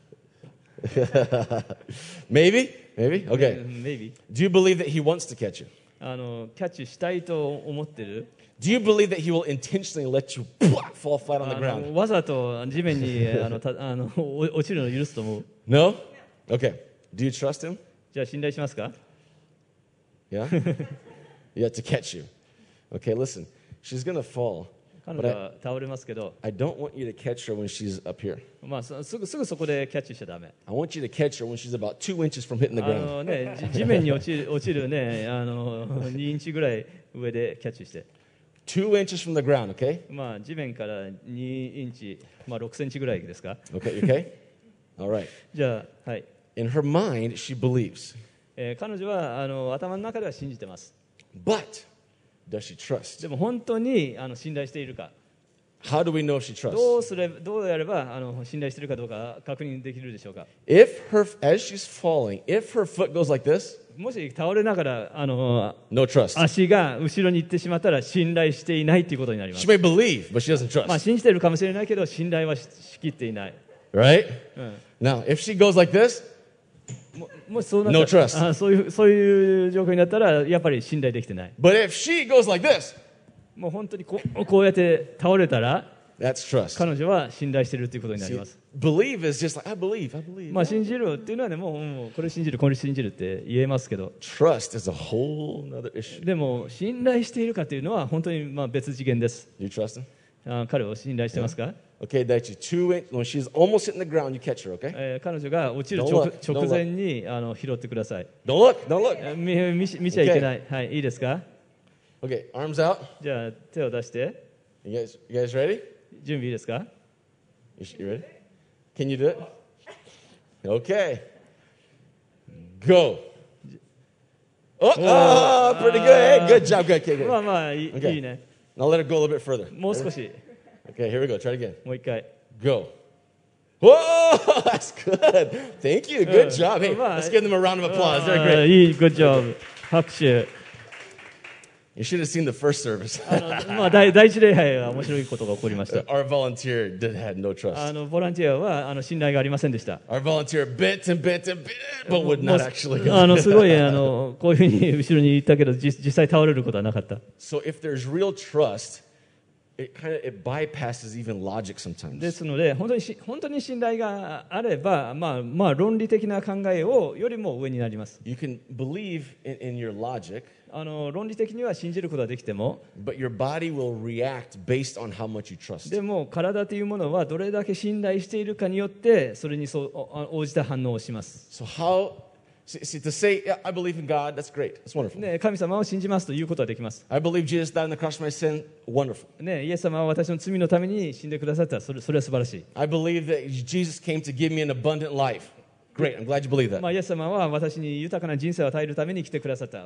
[SPEAKER 1] Maybe? Okay.
[SPEAKER 2] Maybe
[SPEAKER 1] Do you believe that he wants to catch you?
[SPEAKER 2] キャッチしたいと思ってる？
[SPEAKER 1] Do you believe that he will intentionally let you fall flat on the ground?
[SPEAKER 2] わざと地面に落ちるのを許すと思う。
[SPEAKER 1] No? Okay. Do you trust him?
[SPEAKER 2] じゃあ信頼しますか？
[SPEAKER 1] Yeah? Yeah, to catch you. Okay, listen. She's going to fall.
[SPEAKER 2] 彼女は倒れますけど、
[SPEAKER 1] I don't want you to catch her when she's up here.
[SPEAKER 2] まあすぐそこでキャッチしちゃダメ。
[SPEAKER 1] I want you to catch her when she's about 2 inches from hitting the ground.
[SPEAKER 2] 地面に落ちるね2インチぐらい上でキャッチして、
[SPEAKER 1] 2 inches from the ground, okay?
[SPEAKER 2] まあ地面から2インチ、まあ6センチぐらいですか？
[SPEAKER 1] Okay, you okay? All right.
[SPEAKER 2] じゃあはい。
[SPEAKER 1] In her mind, she believes.
[SPEAKER 2] 彼女は頭の中では信じてます。
[SPEAKER 1] But does she trust?
[SPEAKER 2] でも本当に信頼しているか、
[SPEAKER 1] How do we know if she trusts?
[SPEAKER 2] どうやれば信頼しているかどうか確認できるでしょうか？
[SPEAKER 1] As she's falling, if her foot goes like this,
[SPEAKER 2] もし倒れながら
[SPEAKER 1] no trust.
[SPEAKER 2] 足が後ろに行ってしまったら信頼していないということになりま
[SPEAKER 1] She
[SPEAKER 2] す。
[SPEAKER 1] may believe, but she doesn't
[SPEAKER 2] まあ
[SPEAKER 1] trust.
[SPEAKER 2] 信じているかもしれないけど信頼はしきっていない。
[SPEAKER 1] Right?
[SPEAKER 2] うん
[SPEAKER 1] Now, if she goes like this,
[SPEAKER 2] もしそうなったら
[SPEAKER 1] No trust.
[SPEAKER 2] そういう状況になったらやっぱり信頼できてない。
[SPEAKER 1] but if she goes like this,
[SPEAKER 2] もう本当にこうやって倒れたら
[SPEAKER 1] that's trust.
[SPEAKER 2] 彼女は信頼しているということになり
[SPEAKER 1] See,
[SPEAKER 2] ます。
[SPEAKER 1] believe is just like, I believe.
[SPEAKER 2] まあ信じるっていうのはね、もうこれ信じるこれ信じるって言えますけど、
[SPEAKER 1] Trust is a whole other issue.
[SPEAKER 2] でも信頼しているかというのは本当にまあ別次元です。
[SPEAKER 1] You trust him?
[SPEAKER 2] 彼を信頼してますか？
[SPEAKER 1] Okay, Daichi, 2 inches, when she's almost hitting the ground, you catch her, okay?
[SPEAKER 2] 彼女が落ちる
[SPEAKER 1] Don't look.
[SPEAKER 2] 直前に拾ってください。
[SPEAKER 1] Don't look.
[SPEAKER 2] 見ちゃいけない。はい、いいですか？
[SPEAKER 1] Okay, arms out.
[SPEAKER 2] じゃあ手を出して。
[SPEAKER 1] You guys ready?
[SPEAKER 2] 準備いいですか？
[SPEAKER 1] You ready? Can you do it? Okay. Go. Oh, pretty good. Hey, good job. Good.
[SPEAKER 2] まあまあいい
[SPEAKER 1] Okay.
[SPEAKER 2] いいね。
[SPEAKER 1] Now let it go a little bit further.
[SPEAKER 2] もう少し。
[SPEAKER 1] Okay, here we go. Try it again.
[SPEAKER 2] もう一回。
[SPEAKER 1] Go. Whoa, that's good. Thank you. Good job. Hey,
[SPEAKER 2] Well,
[SPEAKER 1] let's give them a round of applause. They're
[SPEAKER 2] あー
[SPEAKER 1] great.
[SPEAKER 2] いい、グッジョブ。拍手。
[SPEAKER 1] You should have seen the first service.
[SPEAKER 2] まあ第一礼拝は面白いことが起こりました。
[SPEAKER 1] Our volunteer had no trust.
[SPEAKER 2] ボランティアは信頼がありませんでした。
[SPEAKER 1] Our volunteer bent and bent and bent, but would not actually
[SPEAKER 2] もう
[SPEAKER 1] go.
[SPEAKER 2] すごいこういうふうに後ろに行ったけど実際倒れることはなかった。
[SPEAKER 1] So if there's real trust, it bypasses even logic
[SPEAKER 2] で
[SPEAKER 1] sometimes.
[SPEAKER 2] すので本当に信頼があれば、まあ論理的な考えをよりも上になります。
[SPEAKER 1] You can believe in your logic,
[SPEAKER 2] 論理的には信じることはできても、
[SPEAKER 1] but your body will react based on how much you trust.
[SPEAKER 2] でも体というものはどれだけ信頼しているかによってそれに応じた反応をします。
[SPEAKER 1] So see, to say, yeah, I believe in God, that's great. That's wonderful.
[SPEAKER 2] ね、神様を信じますということはできます。
[SPEAKER 1] I believe Jesus died on the cross for my sin, wonderful.
[SPEAKER 2] ね、イエス様は私の罪のために死んでくださった。それは素晴らしい。
[SPEAKER 1] I believe that Jesus came to give me an abundant life. Great, I'm glad you believe that.
[SPEAKER 2] まあ、イエス様は私に豊かな人生を与えるために来てくださった。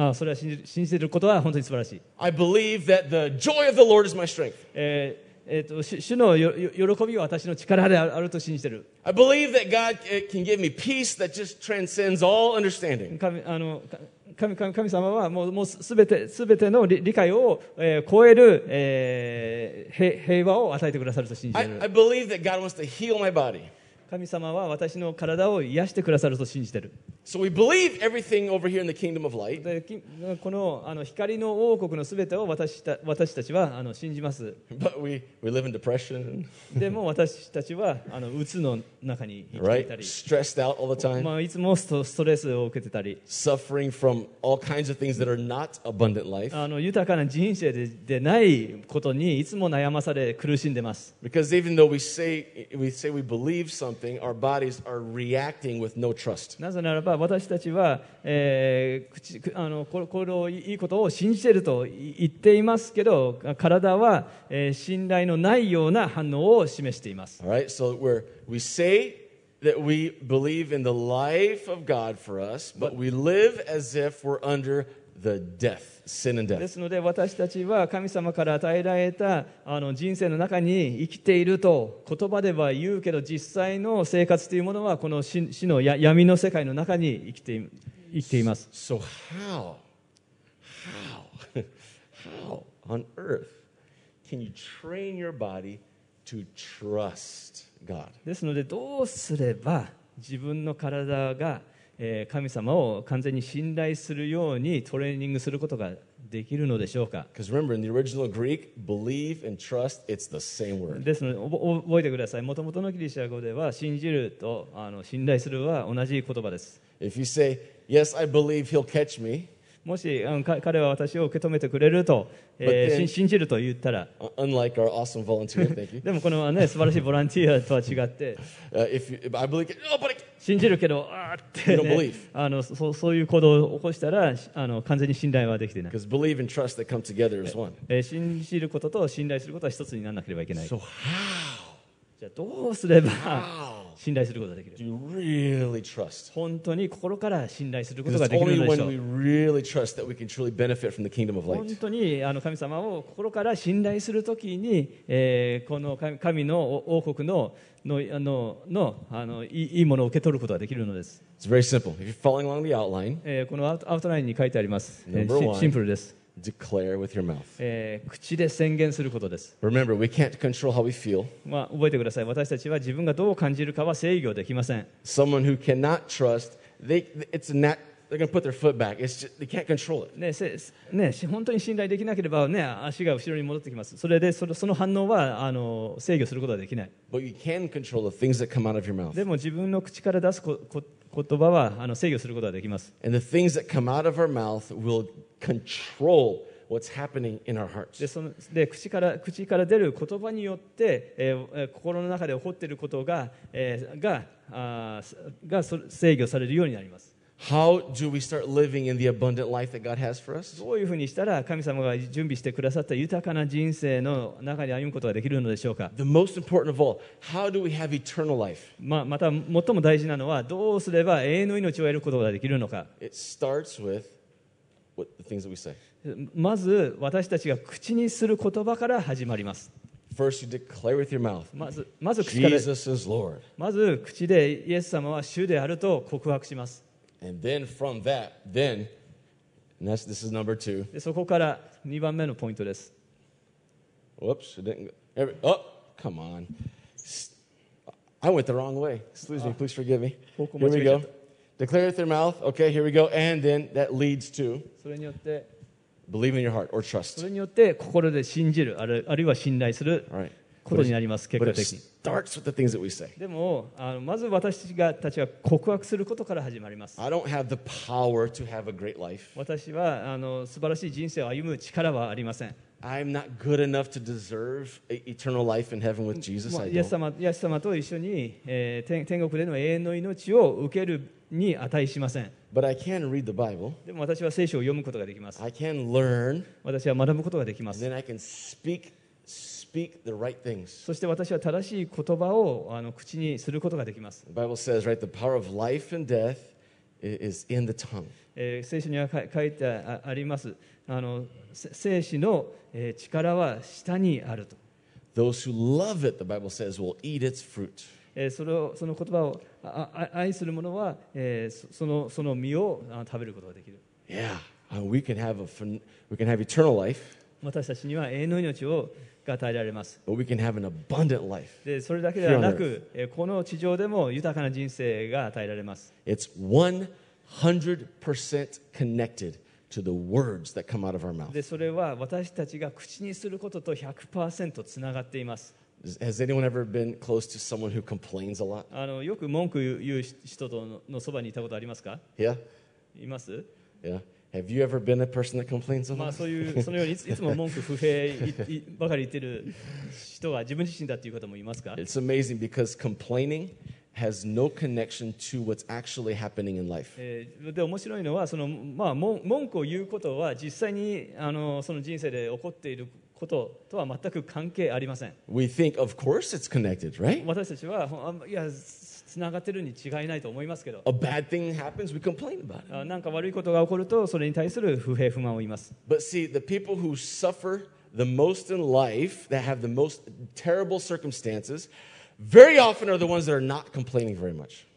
[SPEAKER 2] それは信じていることは本当に素晴らしい。
[SPEAKER 1] I believe that the joy of the Lord is my strength.
[SPEAKER 2] 主の喜びは私の力であると信じている。
[SPEAKER 1] I believe that God can give me peace that just transcends all understanding.
[SPEAKER 2] 神様はもうすべての理解を超える平和を与えてくださると信じている。
[SPEAKER 1] I believe that God wants to heal my body.
[SPEAKER 2] 神様は私の体を癒してくださると信じている。
[SPEAKER 1] So we believe everything over here in the kingdom of light,
[SPEAKER 2] でこの光の王国のすべてを私たちは信じます。
[SPEAKER 1] but we live in depression,
[SPEAKER 2] でも私たちはうつの中に生きてい
[SPEAKER 1] right?
[SPEAKER 2] たり、
[SPEAKER 1] Stressed out all the time,
[SPEAKER 2] いつもストレスを受けてたり、
[SPEAKER 1] suffering from all kinds of things that are not abundant life.
[SPEAKER 2] 豊かな人生でないことにいつも悩まされ苦しんでます。
[SPEAKER 1] Because even though we say we believe something, our bodies are reacting with no trust.
[SPEAKER 2] なぜならば私たちは、これをいいことを信じていると言っていますけど、体は、信頼のないような反応を示しています。
[SPEAKER 1] All right, so we say that we believe in the life of God for us, but we live as if we're under the death, sin and
[SPEAKER 2] で
[SPEAKER 1] death.
[SPEAKER 2] すので私たちは神様から与えられた人生の中に生きていると言葉では言うけど、実際の生活というものはこの死の闇の世界の中に生きています。
[SPEAKER 1] So how on earth can you train your body to trust God?
[SPEAKER 2] ですのでどうすれば自分の体が神様を完全に信頼するようにトレーニングすることができるのでしょうか。
[SPEAKER 1] Because remember, in the original Greek, believe and trust, it's the same word.
[SPEAKER 2] ですので覚えてください。もともとのギリシャ語では信じると信頼するは同じ言葉です。
[SPEAKER 1] If you say, yes, I believe he'll catch me,
[SPEAKER 2] もし彼は私を受け止めてくれると、
[SPEAKER 1] But then-
[SPEAKER 2] 信じると言ったら、
[SPEAKER 1] unlike our awesome volunteer, thank you.
[SPEAKER 2] でもこの、素晴らしいボランティアとは違って、
[SPEAKER 1] If I believe, oh, but
[SPEAKER 2] 信じるけどあーって、
[SPEAKER 1] You don't
[SPEAKER 2] ね
[SPEAKER 1] believe.
[SPEAKER 2] そういう行動を起こしたら完全に信頼はできていない。
[SPEAKER 1] because believe and trust that come together is one.
[SPEAKER 2] 信じることと信頼することは一つにならなければいけない。
[SPEAKER 1] So how
[SPEAKER 2] じゃあどうすれば
[SPEAKER 1] How
[SPEAKER 2] 信頼することができる？
[SPEAKER 1] do you really trust?
[SPEAKER 2] 本当に心から信頼すること
[SPEAKER 1] Because
[SPEAKER 2] が
[SPEAKER 1] it's
[SPEAKER 2] できる
[SPEAKER 1] only
[SPEAKER 2] のでしょ
[SPEAKER 1] when
[SPEAKER 2] う
[SPEAKER 1] we。really trust that we can truly benefit from the kingdom of
[SPEAKER 2] 本
[SPEAKER 1] light.
[SPEAKER 2] 当に神様を心から信頼するときに、この神の王国のいいものを受け取ることができるのです。
[SPEAKER 1] It's very simple. If you're following along the outline,
[SPEAKER 2] このアウトラインに書いてあります。
[SPEAKER 1] Number one
[SPEAKER 2] シンプルです。
[SPEAKER 1] declare with your mouth.
[SPEAKER 2] 口で宣言することです。
[SPEAKER 1] Remember, we can't control how we feel.
[SPEAKER 2] 覚えてください。私たちは自分がどう感じるかは制御できません。
[SPEAKER 1] Someone who cannot trust, they're going to put their foot back. It's just, they can't control it.
[SPEAKER 2] 本当に信頼できなければ、足が後ろに戻ってきます。それでその反応は制御することはできない。
[SPEAKER 1] But you can control the things that come out of your mouth.
[SPEAKER 2] でも自分の口から出す言葉は制御することができます。
[SPEAKER 1] And the things that come out of our mouth will control what's happening in our hearts.
[SPEAKER 2] 口から出る言葉によって、心の中で起こっていることが制御されるようになります。
[SPEAKER 1] How do we start living in the abundant life that God has for us?
[SPEAKER 2] どういうふうにしたら神様が準備してくださった豊かな人生の中に歩むことができるのでしょうか。
[SPEAKER 1] The most important of all, how do we have eternal life?
[SPEAKER 2] また最も大事なのはどうすれば永遠の命を得ることができるのか。
[SPEAKER 1] It starts with the things that we say.
[SPEAKER 2] まず私たちが口にする言葉から始まります。
[SPEAKER 1] First, you declare with your mouth,
[SPEAKER 2] まず口から
[SPEAKER 1] Jesus is Lord.
[SPEAKER 2] まず口でイエス様は主であると告白します。
[SPEAKER 1] And then from that, and this is number 2.
[SPEAKER 2] でそこから2番目のポイントです。
[SPEAKER 1] Whoops, it didn't go. Oh, come on. I went the wrong way. Excuse me, please forgive me. Here we go. Declare with your mouth. Okay, here we go. And then that leads to
[SPEAKER 2] それによって
[SPEAKER 1] believe in your heart or
[SPEAKER 2] そ
[SPEAKER 1] trust.
[SPEAKER 2] れによって心で信じるあるいは信頼する
[SPEAKER 1] All right.
[SPEAKER 2] ことになります。結
[SPEAKER 1] But
[SPEAKER 2] 果
[SPEAKER 1] it
[SPEAKER 2] 的に。
[SPEAKER 1] starts with the things that we say.
[SPEAKER 2] でもまず私たちが告白することから始まります。
[SPEAKER 1] I don't have the power to have a great life.
[SPEAKER 2] 私は素晴らしい人生を歩む力はありません。
[SPEAKER 1] I'm not good enough to deserve eternal life in heaven with Jesus. I
[SPEAKER 2] イエス
[SPEAKER 1] don't.
[SPEAKER 2] 様と一緒に、天国での永遠の命を受けるに値しません。
[SPEAKER 1] But I can read the Bible.
[SPEAKER 2] でも私は聖書を読むことができます。
[SPEAKER 1] I can learn.
[SPEAKER 2] 私は学ぶことができま
[SPEAKER 1] And
[SPEAKER 2] す。
[SPEAKER 1] then I can speak the right things.
[SPEAKER 2] そして私は正しい言葉を口にすることができます。
[SPEAKER 1] The Bible says, right, the power of life and death is in the tongue.
[SPEAKER 2] 聖書には書いてあります。生死の力は舌にあると。
[SPEAKER 1] Those who love it, the Bible says, will eat its fruit.
[SPEAKER 2] その言葉を愛する者は、その実を食べることができる。
[SPEAKER 1] Yeah, we can have eternal life.
[SPEAKER 2] 私たちには永遠の命が与えられます。
[SPEAKER 1] but we can have an abundant life.
[SPEAKER 2] でそれだけではなく、この地上でも豊かな人生が与えられます。
[SPEAKER 1] It's 100% connected to the words that come out of our mouth.
[SPEAKER 2] でそれは私たちが口にすることと 100% つながっています。
[SPEAKER 1] Has anyone ever been close to someone who complains a lot?
[SPEAKER 2] よく文句言う人とのそばにいたことありますか？
[SPEAKER 1] Yeah?
[SPEAKER 2] います？
[SPEAKER 1] Yeah? Have you ever been a person that complains a
[SPEAKER 2] まあ
[SPEAKER 1] lot?
[SPEAKER 2] そのようにいつも文句不平ばかり言ってる人が自分自身だっていう方もいますか？
[SPEAKER 1] It's amazing because complaining has no connection to what's actually happening in life.
[SPEAKER 2] で面白いのは文句を言うことは実際にその人生で起こっていることとは全く関係ありません。
[SPEAKER 1] We think, of course it's connected, right?
[SPEAKER 2] 私たちはいやつながってるに違いないと思いますけど、
[SPEAKER 1] A bad thing happens, we complain about it.
[SPEAKER 2] なんか悪いことが起こるとそれに対する不平不満を言います。
[SPEAKER 1] But see, the people who suffer the most in life, that have the most terrible circumstances, very often are the ones that are not complaining very much.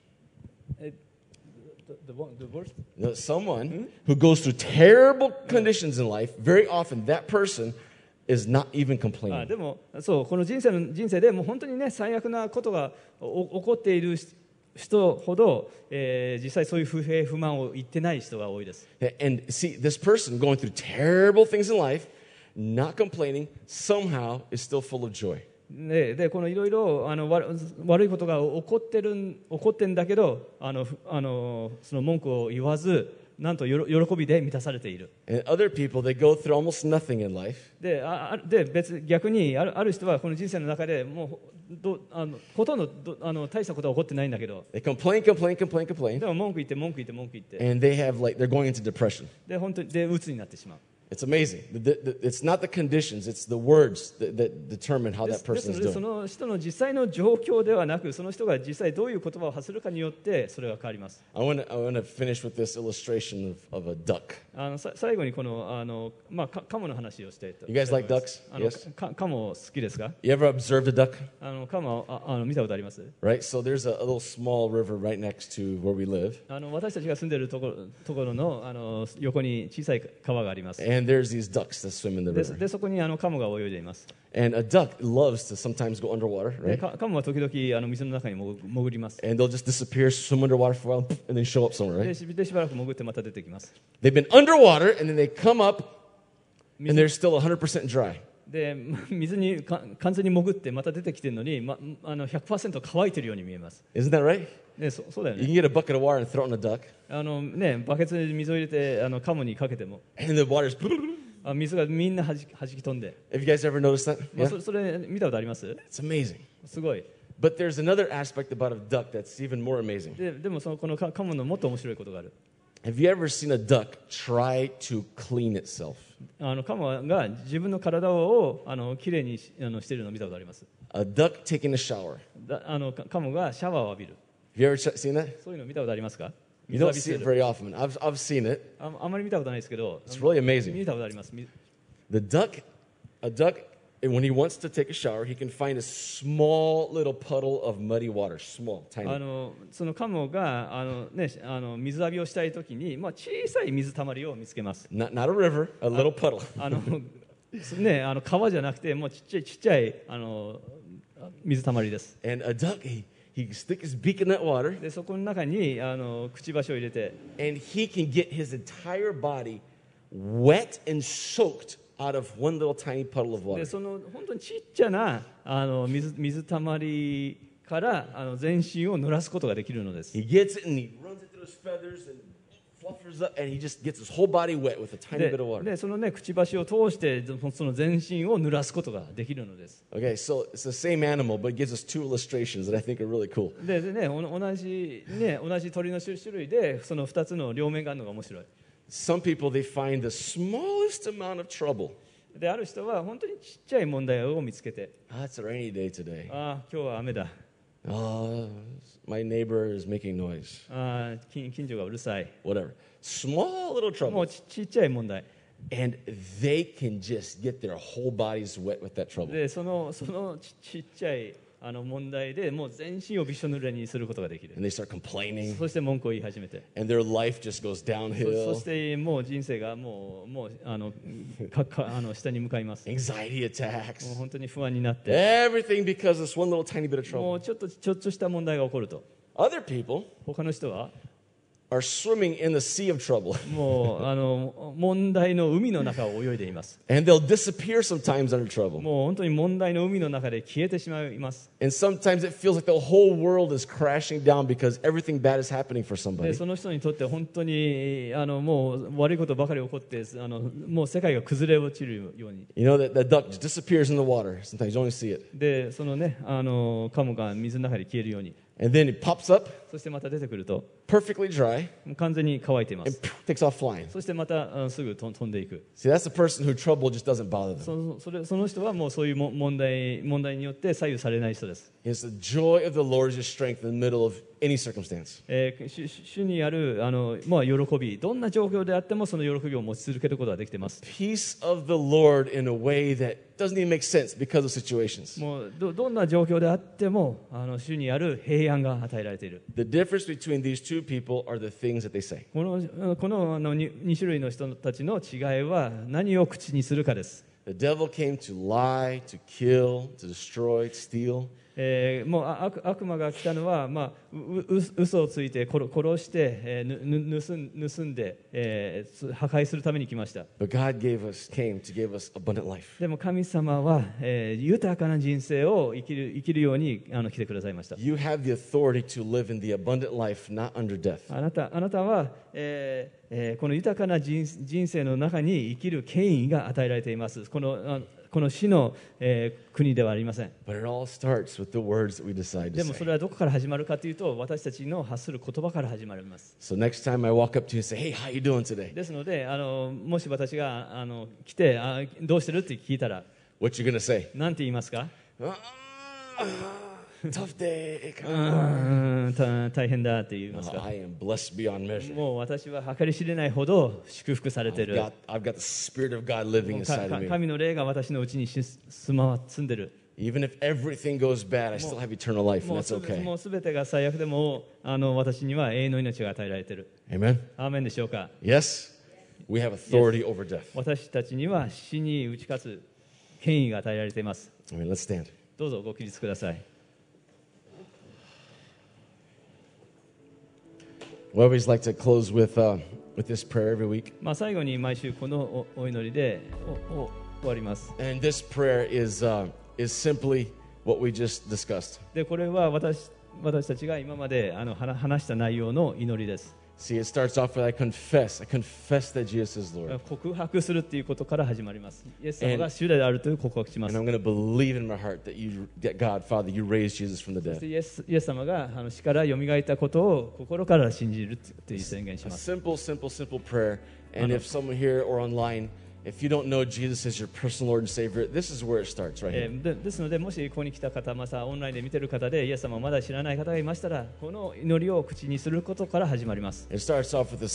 [SPEAKER 2] The worst?
[SPEAKER 1] Now, someone who goes through terrible conditions in life, very often that person is not even complaining.
[SPEAKER 2] でもそうこの人生でもう本当にね最悪なことが起こっている人ほど、実際そういう不平不満を言ってない人が多いです。
[SPEAKER 1] And see, this person going through terrible things in life, not complaining, somehow is still full of joy.
[SPEAKER 2] でこのいろいろ悪いことが起こってんだけどその文句を言わずなんと喜びで満たされている。
[SPEAKER 1] And other people, they go through almost nothing in life.
[SPEAKER 2] で逆にある人はこの人生の中でもうほとんど大したことは起こってないんだけど、
[SPEAKER 1] They complain,
[SPEAKER 2] でも文句言って、
[SPEAKER 1] and they're going into depression.
[SPEAKER 2] で本当に鬱になってしまう。
[SPEAKER 1] It's amazing. It's not the conditions, it's the words that determine how
[SPEAKER 2] で
[SPEAKER 1] that
[SPEAKER 2] す
[SPEAKER 1] person
[SPEAKER 2] の
[SPEAKER 1] is
[SPEAKER 2] でそ
[SPEAKER 1] doing.
[SPEAKER 2] の人の実際の状況ではなく、その人が実際どういう言葉を発するかによってそれが変わります。
[SPEAKER 1] I want to finish with this illustration of a duck.
[SPEAKER 2] 最後にこのカモの話をしていと。
[SPEAKER 1] You guys like ducks? Yes?
[SPEAKER 2] カモ好きですか？
[SPEAKER 1] You ever observed a duck?
[SPEAKER 2] カモ見たことあります？
[SPEAKER 1] Right? So there's a little small river right next to where we live.
[SPEAKER 2] 私たちが住んでいるところの横に小さい川があります。
[SPEAKER 1] And there's these ducks that swim in the
[SPEAKER 2] で
[SPEAKER 1] river.
[SPEAKER 2] そこにカモが泳いでいます。
[SPEAKER 1] And a duck loves to sometimes go underwater,
[SPEAKER 2] で
[SPEAKER 1] right?
[SPEAKER 2] カモは時々水の中に潜ります。
[SPEAKER 1] And they'll just disappear, swim underwater for a while, and then show up somewhere,
[SPEAKER 2] で
[SPEAKER 1] right?
[SPEAKER 2] しばらく潜ってまた出てきます。
[SPEAKER 1] They've been underwater, and then they come up, and they're still 100% dry.
[SPEAKER 2] で水に完全に潜ってまた出てきてるのに、100% 乾いてるように見えます。
[SPEAKER 1] Isn't that right?
[SPEAKER 2] ね、そうだよ
[SPEAKER 1] You
[SPEAKER 2] ね。
[SPEAKER 1] can get a bucket of water and throw it on a duck,
[SPEAKER 2] バケツに水を入れてカモにかけても
[SPEAKER 1] and the water's...
[SPEAKER 2] 水がみんなはじき飛んで、
[SPEAKER 1] Have you guys ever noticed that?
[SPEAKER 2] そ
[SPEAKER 1] Yeah?
[SPEAKER 2] それ見たことあります？
[SPEAKER 1] It's amazing.
[SPEAKER 2] すごい。
[SPEAKER 1] But there's another aspect about a duck that's even more amazing.
[SPEAKER 2] でもこのカモのもっと面白いことがある。
[SPEAKER 1] Have you ever seen a duck try to clean itself?
[SPEAKER 2] カモが自分の体をきれいにしているのを見たことあります。
[SPEAKER 1] A duck taking a shower.
[SPEAKER 2] カモがシャワーを浴びる。
[SPEAKER 1] Have you ever seen that?
[SPEAKER 2] そういうの見たことありますか？
[SPEAKER 1] You
[SPEAKER 2] 水
[SPEAKER 1] don't
[SPEAKER 2] 浴び
[SPEAKER 1] see
[SPEAKER 2] して
[SPEAKER 1] it
[SPEAKER 2] る。
[SPEAKER 1] very often. I've seen it.
[SPEAKER 2] あんまり見たことないですけど、
[SPEAKER 1] It's really amazing.
[SPEAKER 2] 見たことあります。
[SPEAKER 1] A duck, and when he wants to take a shower, he can find a small little puddle of muddy water, small, tiny.
[SPEAKER 2] そのカモが水浴びをしたいときに、小さい水たまりを見つけます。
[SPEAKER 1] Not a river, a little puddle.
[SPEAKER 2] 川じゃなくてもうちっちゃい水たまりです。
[SPEAKER 1] And a duck, he can stick his beak in that water,
[SPEAKER 2] でそこの中にくちばしを入れて、
[SPEAKER 1] and he can get his entire body wet and soaked out of one little tiny puddle of
[SPEAKER 2] で
[SPEAKER 1] water.
[SPEAKER 2] その本当にちっちゃな水たまりから全身を濡らすことができるのです。
[SPEAKER 1] He gets it and he runs it through his feathers and fluffers up, and he just gets his whole body wet with a tiny bit of water.
[SPEAKER 2] でそのくちばしを通してその全身を濡らすことができるのです。
[SPEAKER 1] Okay, so it's the same animal, but it gives us two illustrations that I think are really cool.
[SPEAKER 2] で同じ鳥の種類でその2つの両面があるのが面白い。
[SPEAKER 1] Some people, they find the smallest amount of trouble.
[SPEAKER 2] である人は本当にちっちゃい問題を見つけて、
[SPEAKER 1] It's a rainy day today.
[SPEAKER 2] 今日は雨だ。
[SPEAKER 1] My neighbor is making noise.
[SPEAKER 2] 近所がうるさい。
[SPEAKER 1] Whatever. Small little
[SPEAKER 2] もう
[SPEAKER 1] trouble.
[SPEAKER 2] ちっちゃい問題。
[SPEAKER 1] And they can just get their whole bodies wet with that trouble.
[SPEAKER 2] でそのちっちゃい問題でもう全身をびしょ濡れにすることができる。
[SPEAKER 1] And they start complaining.
[SPEAKER 2] そして文句を言い始めて、
[SPEAKER 1] And their life just goes
[SPEAKER 2] そ
[SPEAKER 1] downhill.
[SPEAKER 2] してもう人生がもう下に向かいます。
[SPEAKER 1] Anxiety
[SPEAKER 2] もう
[SPEAKER 1] attacks.
[SPEAKER 2] 本当に不安になって、
[SPEAKER 1] Everything because of this one little tiny bit of
[SPEAKER 2] も
[SPEAKER 1] trouble.
[SPEAKER 2] うちょっとした問題が起こると、
[SPEAKER 1] Other people
[SPEAKER 2] 他の人は
[SPEAKER 1] are swimming in the sea of trouble.
[SPEAKER 2] もう問題の海の中を泳いでいます。
[SPEAKER 1] And they'll disappear sometimes under trouble.
[SPEAKER 2] もう本当に問題の海の中で消えてしまいます。
[SPEAKER 1] And sometimes it feels like the whole world is crashing down because everything bad is happening for
[SPEAKER 2] で
[SPEAKER 1] somebody.
[SPEAKER 2] その人にとって本当にもう悪いことばかり起こってもう世界が崩れ落ちるように。
[SPEAKER 1] You know, that duck just disappears in the water. Sometimes you only see it.
[SPEAKER 2] でそのねカモが水の中で消えるように。
[SPEAKER 1] And then it pops up,
[SPEAKER 2] そしてまた出てくると
[SPEAKER 1] perfectly dry,
[SPEAKER 2] もう完全に乾いていま
[SPEAKER 1] and
[SPEAKER 2] す。
[SPEAKER 1] takes off flying.
[SPEAKER 2] そしてまたすぐ飛んでいく。
[SPEAKER 1] See, that's the person who trouble just doesn't bother them.
[SPEAKER 2] その人はもうそういう問題によって左右されない人です。
[SPEAKER 1] It's the joy of the Lord is your strength in the middle of any circumstance.
[SPEAKER 2] 主にある喜び、どんな状況であってもその喜びを持ち続けることができています。
[SPEAKER 1] Peace of the Lord in a way that doesn't even make sense because of situations.
[SPEAKER 2] もうどんな状況であっても主にある平安が与えられている。
[SPEAKER 1] The difference between these two people are the things that they say.
[SPEAKER 2] この2種類の人たちの違いは何を口にするかです。
[SPEAKER 1] The devil came to lie, to kill, to destroy, to steal.
[SPEAKER 2] もう悪魔が来たのは、嘘をついて殺して、盗んで、破壊するために来ました。
[SPEAKER 1] But God came to give us abundant life.
[SPEAKER 2] でも神様は、豊かな人生を生きるように来てくださいました。
[SPEAKER 1] You have the authority to live in the abundant life, not under death.
[SPEAKER 2] あなたは、この豊かな人生の中に生きる権威が与えられています。この死の、国ではありません。
[SPEAKER 1] But it all starts with the words that we decide
[SPEAKER 2] で
[SPEAKER 1] to
[SPEAKER 2] もそ
[SPEAKER 1] say.
[SPEAKER 2] れはどこから始まるかというと、私たちの発する言葉から始まります。
[SPEAKER 1] So next time I walk up to you and say, hey, how you doing today?
[SPEAKER 2] ですのでもし私が来てどうしてるって聞いたら
[SPEAKER 1] What you going to say?
[SPEAKER 2] 何て言いますか？
[SPEAKER 1] Tough day.
[SPEAKER 2] 大変だって言いますか？
[SPEAKER 1] I am blessed beyond measure.
[SPEAKER 2] もう私は計り知れないほど祝福されている。
[SPEAKER 1] I've got the Spirit of God living inside of me.
[SPEAKER 2] 神の霊が私のうちに住んでる。
[SPEAKER 1] Even if everything goes bad, I still have eternal life,
[SPEAKER 2] も
[SPEAKER 1] and
[SPEAKER 2] う
[SPEAKER 1] that's okay.
[SPEAKER 2] もう全てが最悪でも私には永遠の命が与えられている。
[SPEAKER 1] Amen?
[SPEAKER 2] アーメンでしょうか？
[SPEAKER 1] Yes? We have authority over death.
[SPEAKER 2] 私たちには死に打ち勝つ権威が与えられています。
[SPEAKER 1] Let's stand.
[SPEAKER 2] どうぞご起立ください。
[SPEAKER 1] We always like to close with this prayer every week.
[SPEAKER 2] 最後に毎週このお祈りで終わります。
[SPEAKER 1] And this prayer is simply what we just discussed.
[SPEAKER 2] でこれは私たちが今まで話した内容の祈りです。
[SPEAKER 1] See, it starts off with I confess that Jesus is Lord.
[SPEAKER 2] 告白するっていうことから始まります。イエス様が主であるという告白します。
[SPEAKER 1] And I'm going to believe in my heart that God, Father, you raised Jesus from the
[SPEAKER 2] そして
[SPEAKER 1] dead.
[SPEAKER 2] イエス様が死からよみがえったことを心から信じるという宣言し
[SPEAKER 1] A
[SPEAKER 2] ます。
[SPEAKER 1] simple prayer. And if someone here or online, if you don't know Jesus as your personal Lord and Savior, this is where it starts right here.
[SPEAKER 2] ですので、もしここに来た方、またオンラインで見ている方でイエス様をまだ知らない方がいましたら、この祈りを口にすることから始まります。
[SPEAKER 1] It starts off with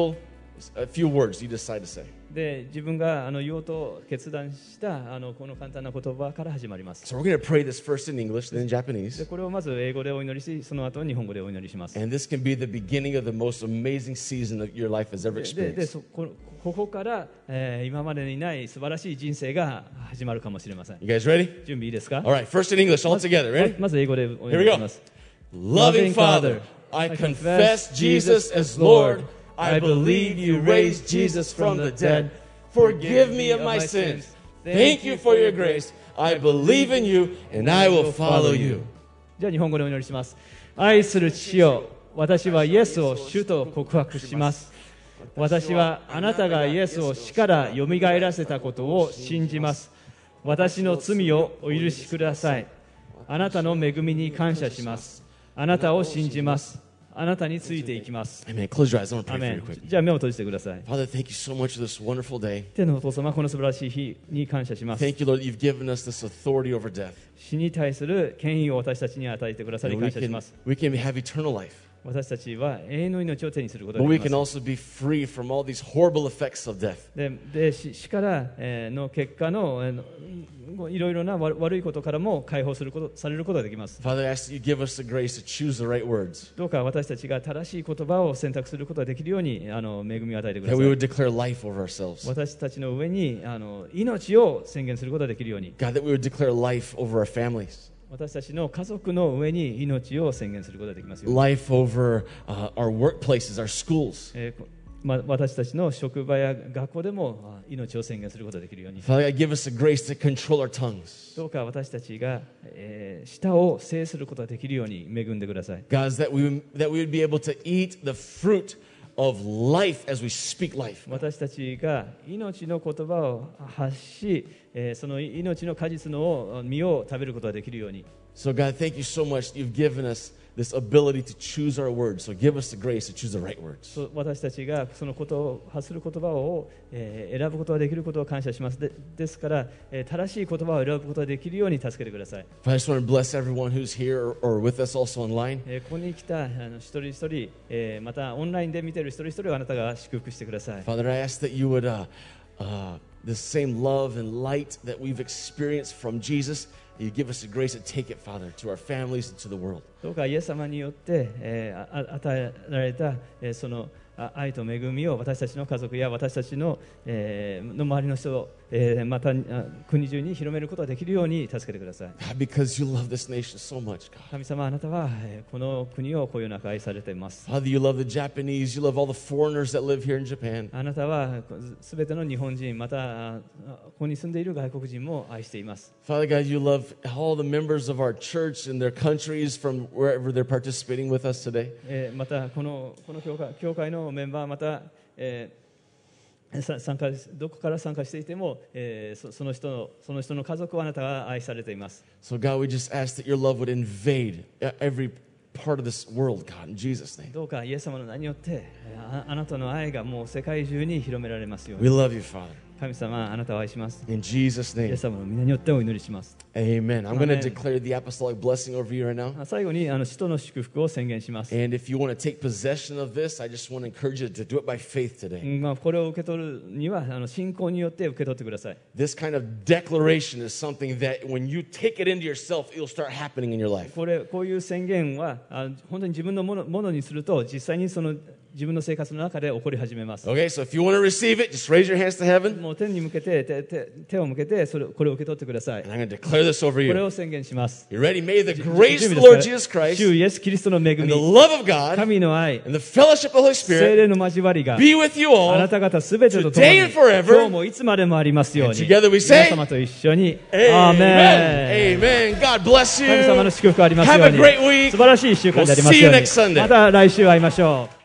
[SPEAKER 1] a few words you decide to say.
[SPEAKER 2] で、自分が言おうと決断したこの簡単な言葉から始まります。
[SPEAKER 1] So we're going to pray this first in English, then in
[SPEAKER 2] で
[SPEAKER 1] Japanese.
[SPEAKER 2] これをまず英語でお祈りし、その後日本語でお祈りします。
[SPEAKER 1] And this can be the beginning of the most amazing season that your life has ever
[SPEAKER 2] で
[SPEAKER 1] experienced.
[SPEAKER 2] ここから、今までにない素晴らしい人生が始まるかもしれません。
[SPEAKER 1] You guys ready?
[SPEAKER 2] 準備いいですか？
[SPEAKER 1] All right, first in English, all together. Ready?
[SPEAKER 2] まず英語でお
[SPEAKER 1] Here
[SPEAKER 2] 祈
[SPEAKER 1] we
[SPEAKER 2] りし
[SPEAKER 1] go.
[SPEAKER 2] ます。
[SPEAKER 1] Loving Father, I confess Jesus as Lord. I believe you raised Jesus from the dead. Forgive me of my sins. Thank you for your grace. I believe in you and I will follow you.
[SPEAKER 2] じゃあ日本語でお祈りします。愛する父よ、私はイエスを主と告白します。私はあなたがイエスを死からよみがえらせたことを信じます。私の罪をお許しください。あなたの恵みに感謝します。あなたを信じます。あなたについていきます。
[SPEAKER 1] Amen. Close your eyes. I want to
[SPEAKER 2] ア
[SPEAKER 1] pray
[SPEAKER 2] メ
[SPEAKER 1] for
[SPEAKER 2] ン
[SPEAKER 1] you quick.
[SPEAKER 2] じゃあ目を閉じてください。
[SPEAKER 1] Father, thank you so much for this wonderful day.
[SPEAKER 2] 天のお父様、この素晴らしい日に感謝します。
[SPEAKER 1] Thank you, Lord, that you've given us this authority over death.
[SPEAKER 2] 死に対する権威を私たちに与えてくださり
[SPEAKER 1] And we
[SPEAKER 2] 感謝し
[SPEAKER 1] can,
[SPEAKER 2] ます。
[SPEAKER 1] we can have eternal life.
[SPEAKER 2] 私たちは永遠の命を手にすることが
[SPEAKER 1] But
[SPEAKER 2] で
[SPEAKER 1] we
[SPEAKER 2] き
[SPEAKER 1] can
[SPEAKER 2] ます。
[SPEAKER 1] also be free from all these horrible effects of death.
[SPEAKER 2] で死から、の結果の、いろいろな悪いことからも解放されることができます。
[SPEAKER 1] Father, I ask that you give us the grace to choose the right words.
[SPEAKER 2] どうか私たちが正しい言葉を選択することができるように恵みを与えてくだ
[SPEAKER 1] That
[SPEAKER 2] さ
[SPEAKER 1] we
[SPEAKER 2] い。
[SPEAKER 1] would declare life over ourselves.
[SPEAKER 2] 私たちの上に命を宣言することができるように、
[SPEAKER 1] God, that we would declare life over our families.
[SPEAKER 2] 私たちの家族の上に命を宣言することができますように。
[SPEAKER 1] Life over our workplaces, our schools.
[SPEAKER 2] 私たちの職場や学校でも命を宣言することができるように。
[SPEAKER 1] Father God, give us the grace to control our tongues.
[SPEAKER 2] どうか私たちが、舌を制することができるように恵んでください。
[SPEAKER 1] God, that we would be able to eat the fruit of life as we speak life.
[SPEAKER 2] 私たちが命の言葉を発し、その命の果実の実を食べることができるように。
[SPEAKER 1] So God, thank you so much. You've given us this ability to choose our words. So give us the grace to choose the right words.
[SPEAKER 2] 私たちがそのことを発する言葉を、選ぶことができることを感謝します。ですから、正しい言葉を選ぶことができるように助けてください。
[SPEAKER 1] I just want to bless everyone who's here or with us also online.
[SPEAKER 2] ここに来た一人一人、またオンラインで見ている一人一人をあなたが祝福してください。
[SPEAKER 1] Father, I ask that you would, the same love and light that we've experienced from Jesus, you give us the grace to take it, Father, to our families and to the world.
[SPEAKER 2] どうかイエス様によって、与えられた、その愛と恵みを私たちの家族や私たちの、の周りの人、また国中に広めることができるように助けてください。
[SPEAKER 1] God, because you love this nation so much, God.
[SPEAKER 2] 神様、あなたはこの国をこよなく愛されています。
[SPEAKER 1] Father, you love the Japanese, you love all the foreigners that live here in Japan.
[SPEAKER 2] あなたはすべての日本人、またここに住んでいる外国人も愛しています。
[SPEAKER 1] Father God, you love all the members of our church and their countries from wherever they're participating with us today.
[SPEAKER 2] またこの教会のメンバー、また、どこから参加していても、その人の家族をあなたが愛されています。
[SPEAKER 1] So God, we just ask that your love would invade every part of this world, God, in Jesus' name.
[SPEAKER 2] どうかイエス様の名によってあなたの愛がもう世界中に広められますよう
[SPEAKER 1] We
[SPEAKER 2] に。
[SPEAKER 1] love you, Father.
[SPEAKER 2] 神様、あなたを愛します。
[SPEAKER 1] In Jesus'
[SPEAKER 2] イエ
[SPEAKER 1] name,
[SPEAKER 2] ス様の皆によってお祈りします。
[SPEAKER 1] amen. I'm going to
[SPEAKER 2] Amen.
[SPEAKER 1] declare the apostolic blessing over you right now.
[SPEAKER 2] 最後に使徒の祝福を宣言します。
[SPEAKER 1] And if you want to take possession of this, I just want to encourage you to do it by faith today.
[SPEAKER 2] これを受け取るには信仰によって受け取ってください。
[SPEAKER 1] This kind of declaration is something that when you take it into yourself, it'll start happening in your life.
[SPEAKER 2] こういう宣言は本当に自分のものにすると実際に自分の生活の中で起こり始めます。
[SPEAKER 1] Okay, so if you want to receive it, just raise your hands to heaven.
[SPEAKER 2] もう天に向けて手を向けてこれを受け取ってください。
[SPEAKER 1] And I'm going to declare this over
[SPEAKER 2] これ
[SPEAKER 1] you.
[SPEAKER 2] を宣言します。
[SPEAKER 1] You ready? May the grace
[SPEAKER 2] 準
[SPEAKER 1] of
[SPEAKER 2] 備
[SPEAKER 1] the
[SPEAKER 2] で
[SPEAKER 1] Lord
[SPEAKER 2] す
[SPEAKER 1] Jesus
[SPEAKER 2] か？
[SPEAKER 1] Christ
[SPEAKER 2] 主イエスキリストの恵
[SPEAKER 1] and
[SPEAKER 2] み、
[SPEAKER 1] the love of God
[SPEAKER 2] 神の愛、
[SPEAKER 1] and the fellowship of the Holy
[SPEAKER 2] 聖
[SPEAKER 1] Spirit
[SPEAKER 2] 霊の交わりが
[SPEAKER 1] be with you
[SPEAKER 2] あな
[SPEAKER 1] all.
[SPEAKER 2] た方すべてと共に
[SPEAKER 1] Today and forever.
[SPEAKER 2] 今日もいつまでもありますように。
[SPEAKER 1] And together we say,
[SPEAKER 2] 皆様と一緒にアーメン。
[SPEAKER 1] Amen. God bless you.
[SPEAKER 2] 神様の祝福ありますよう
[SPEAKER 1] Have a
[SPEAKER 2] に。
[SPEAKER 1] great week.
[SPEAKER 2] 素晴らしい1週間であります
[SPEAKER 1] We'll see you
[SPEAKER 2] ように。
[SPEAKER 1] next Sunday.
[SPEAKER 2] また来週会いましょう。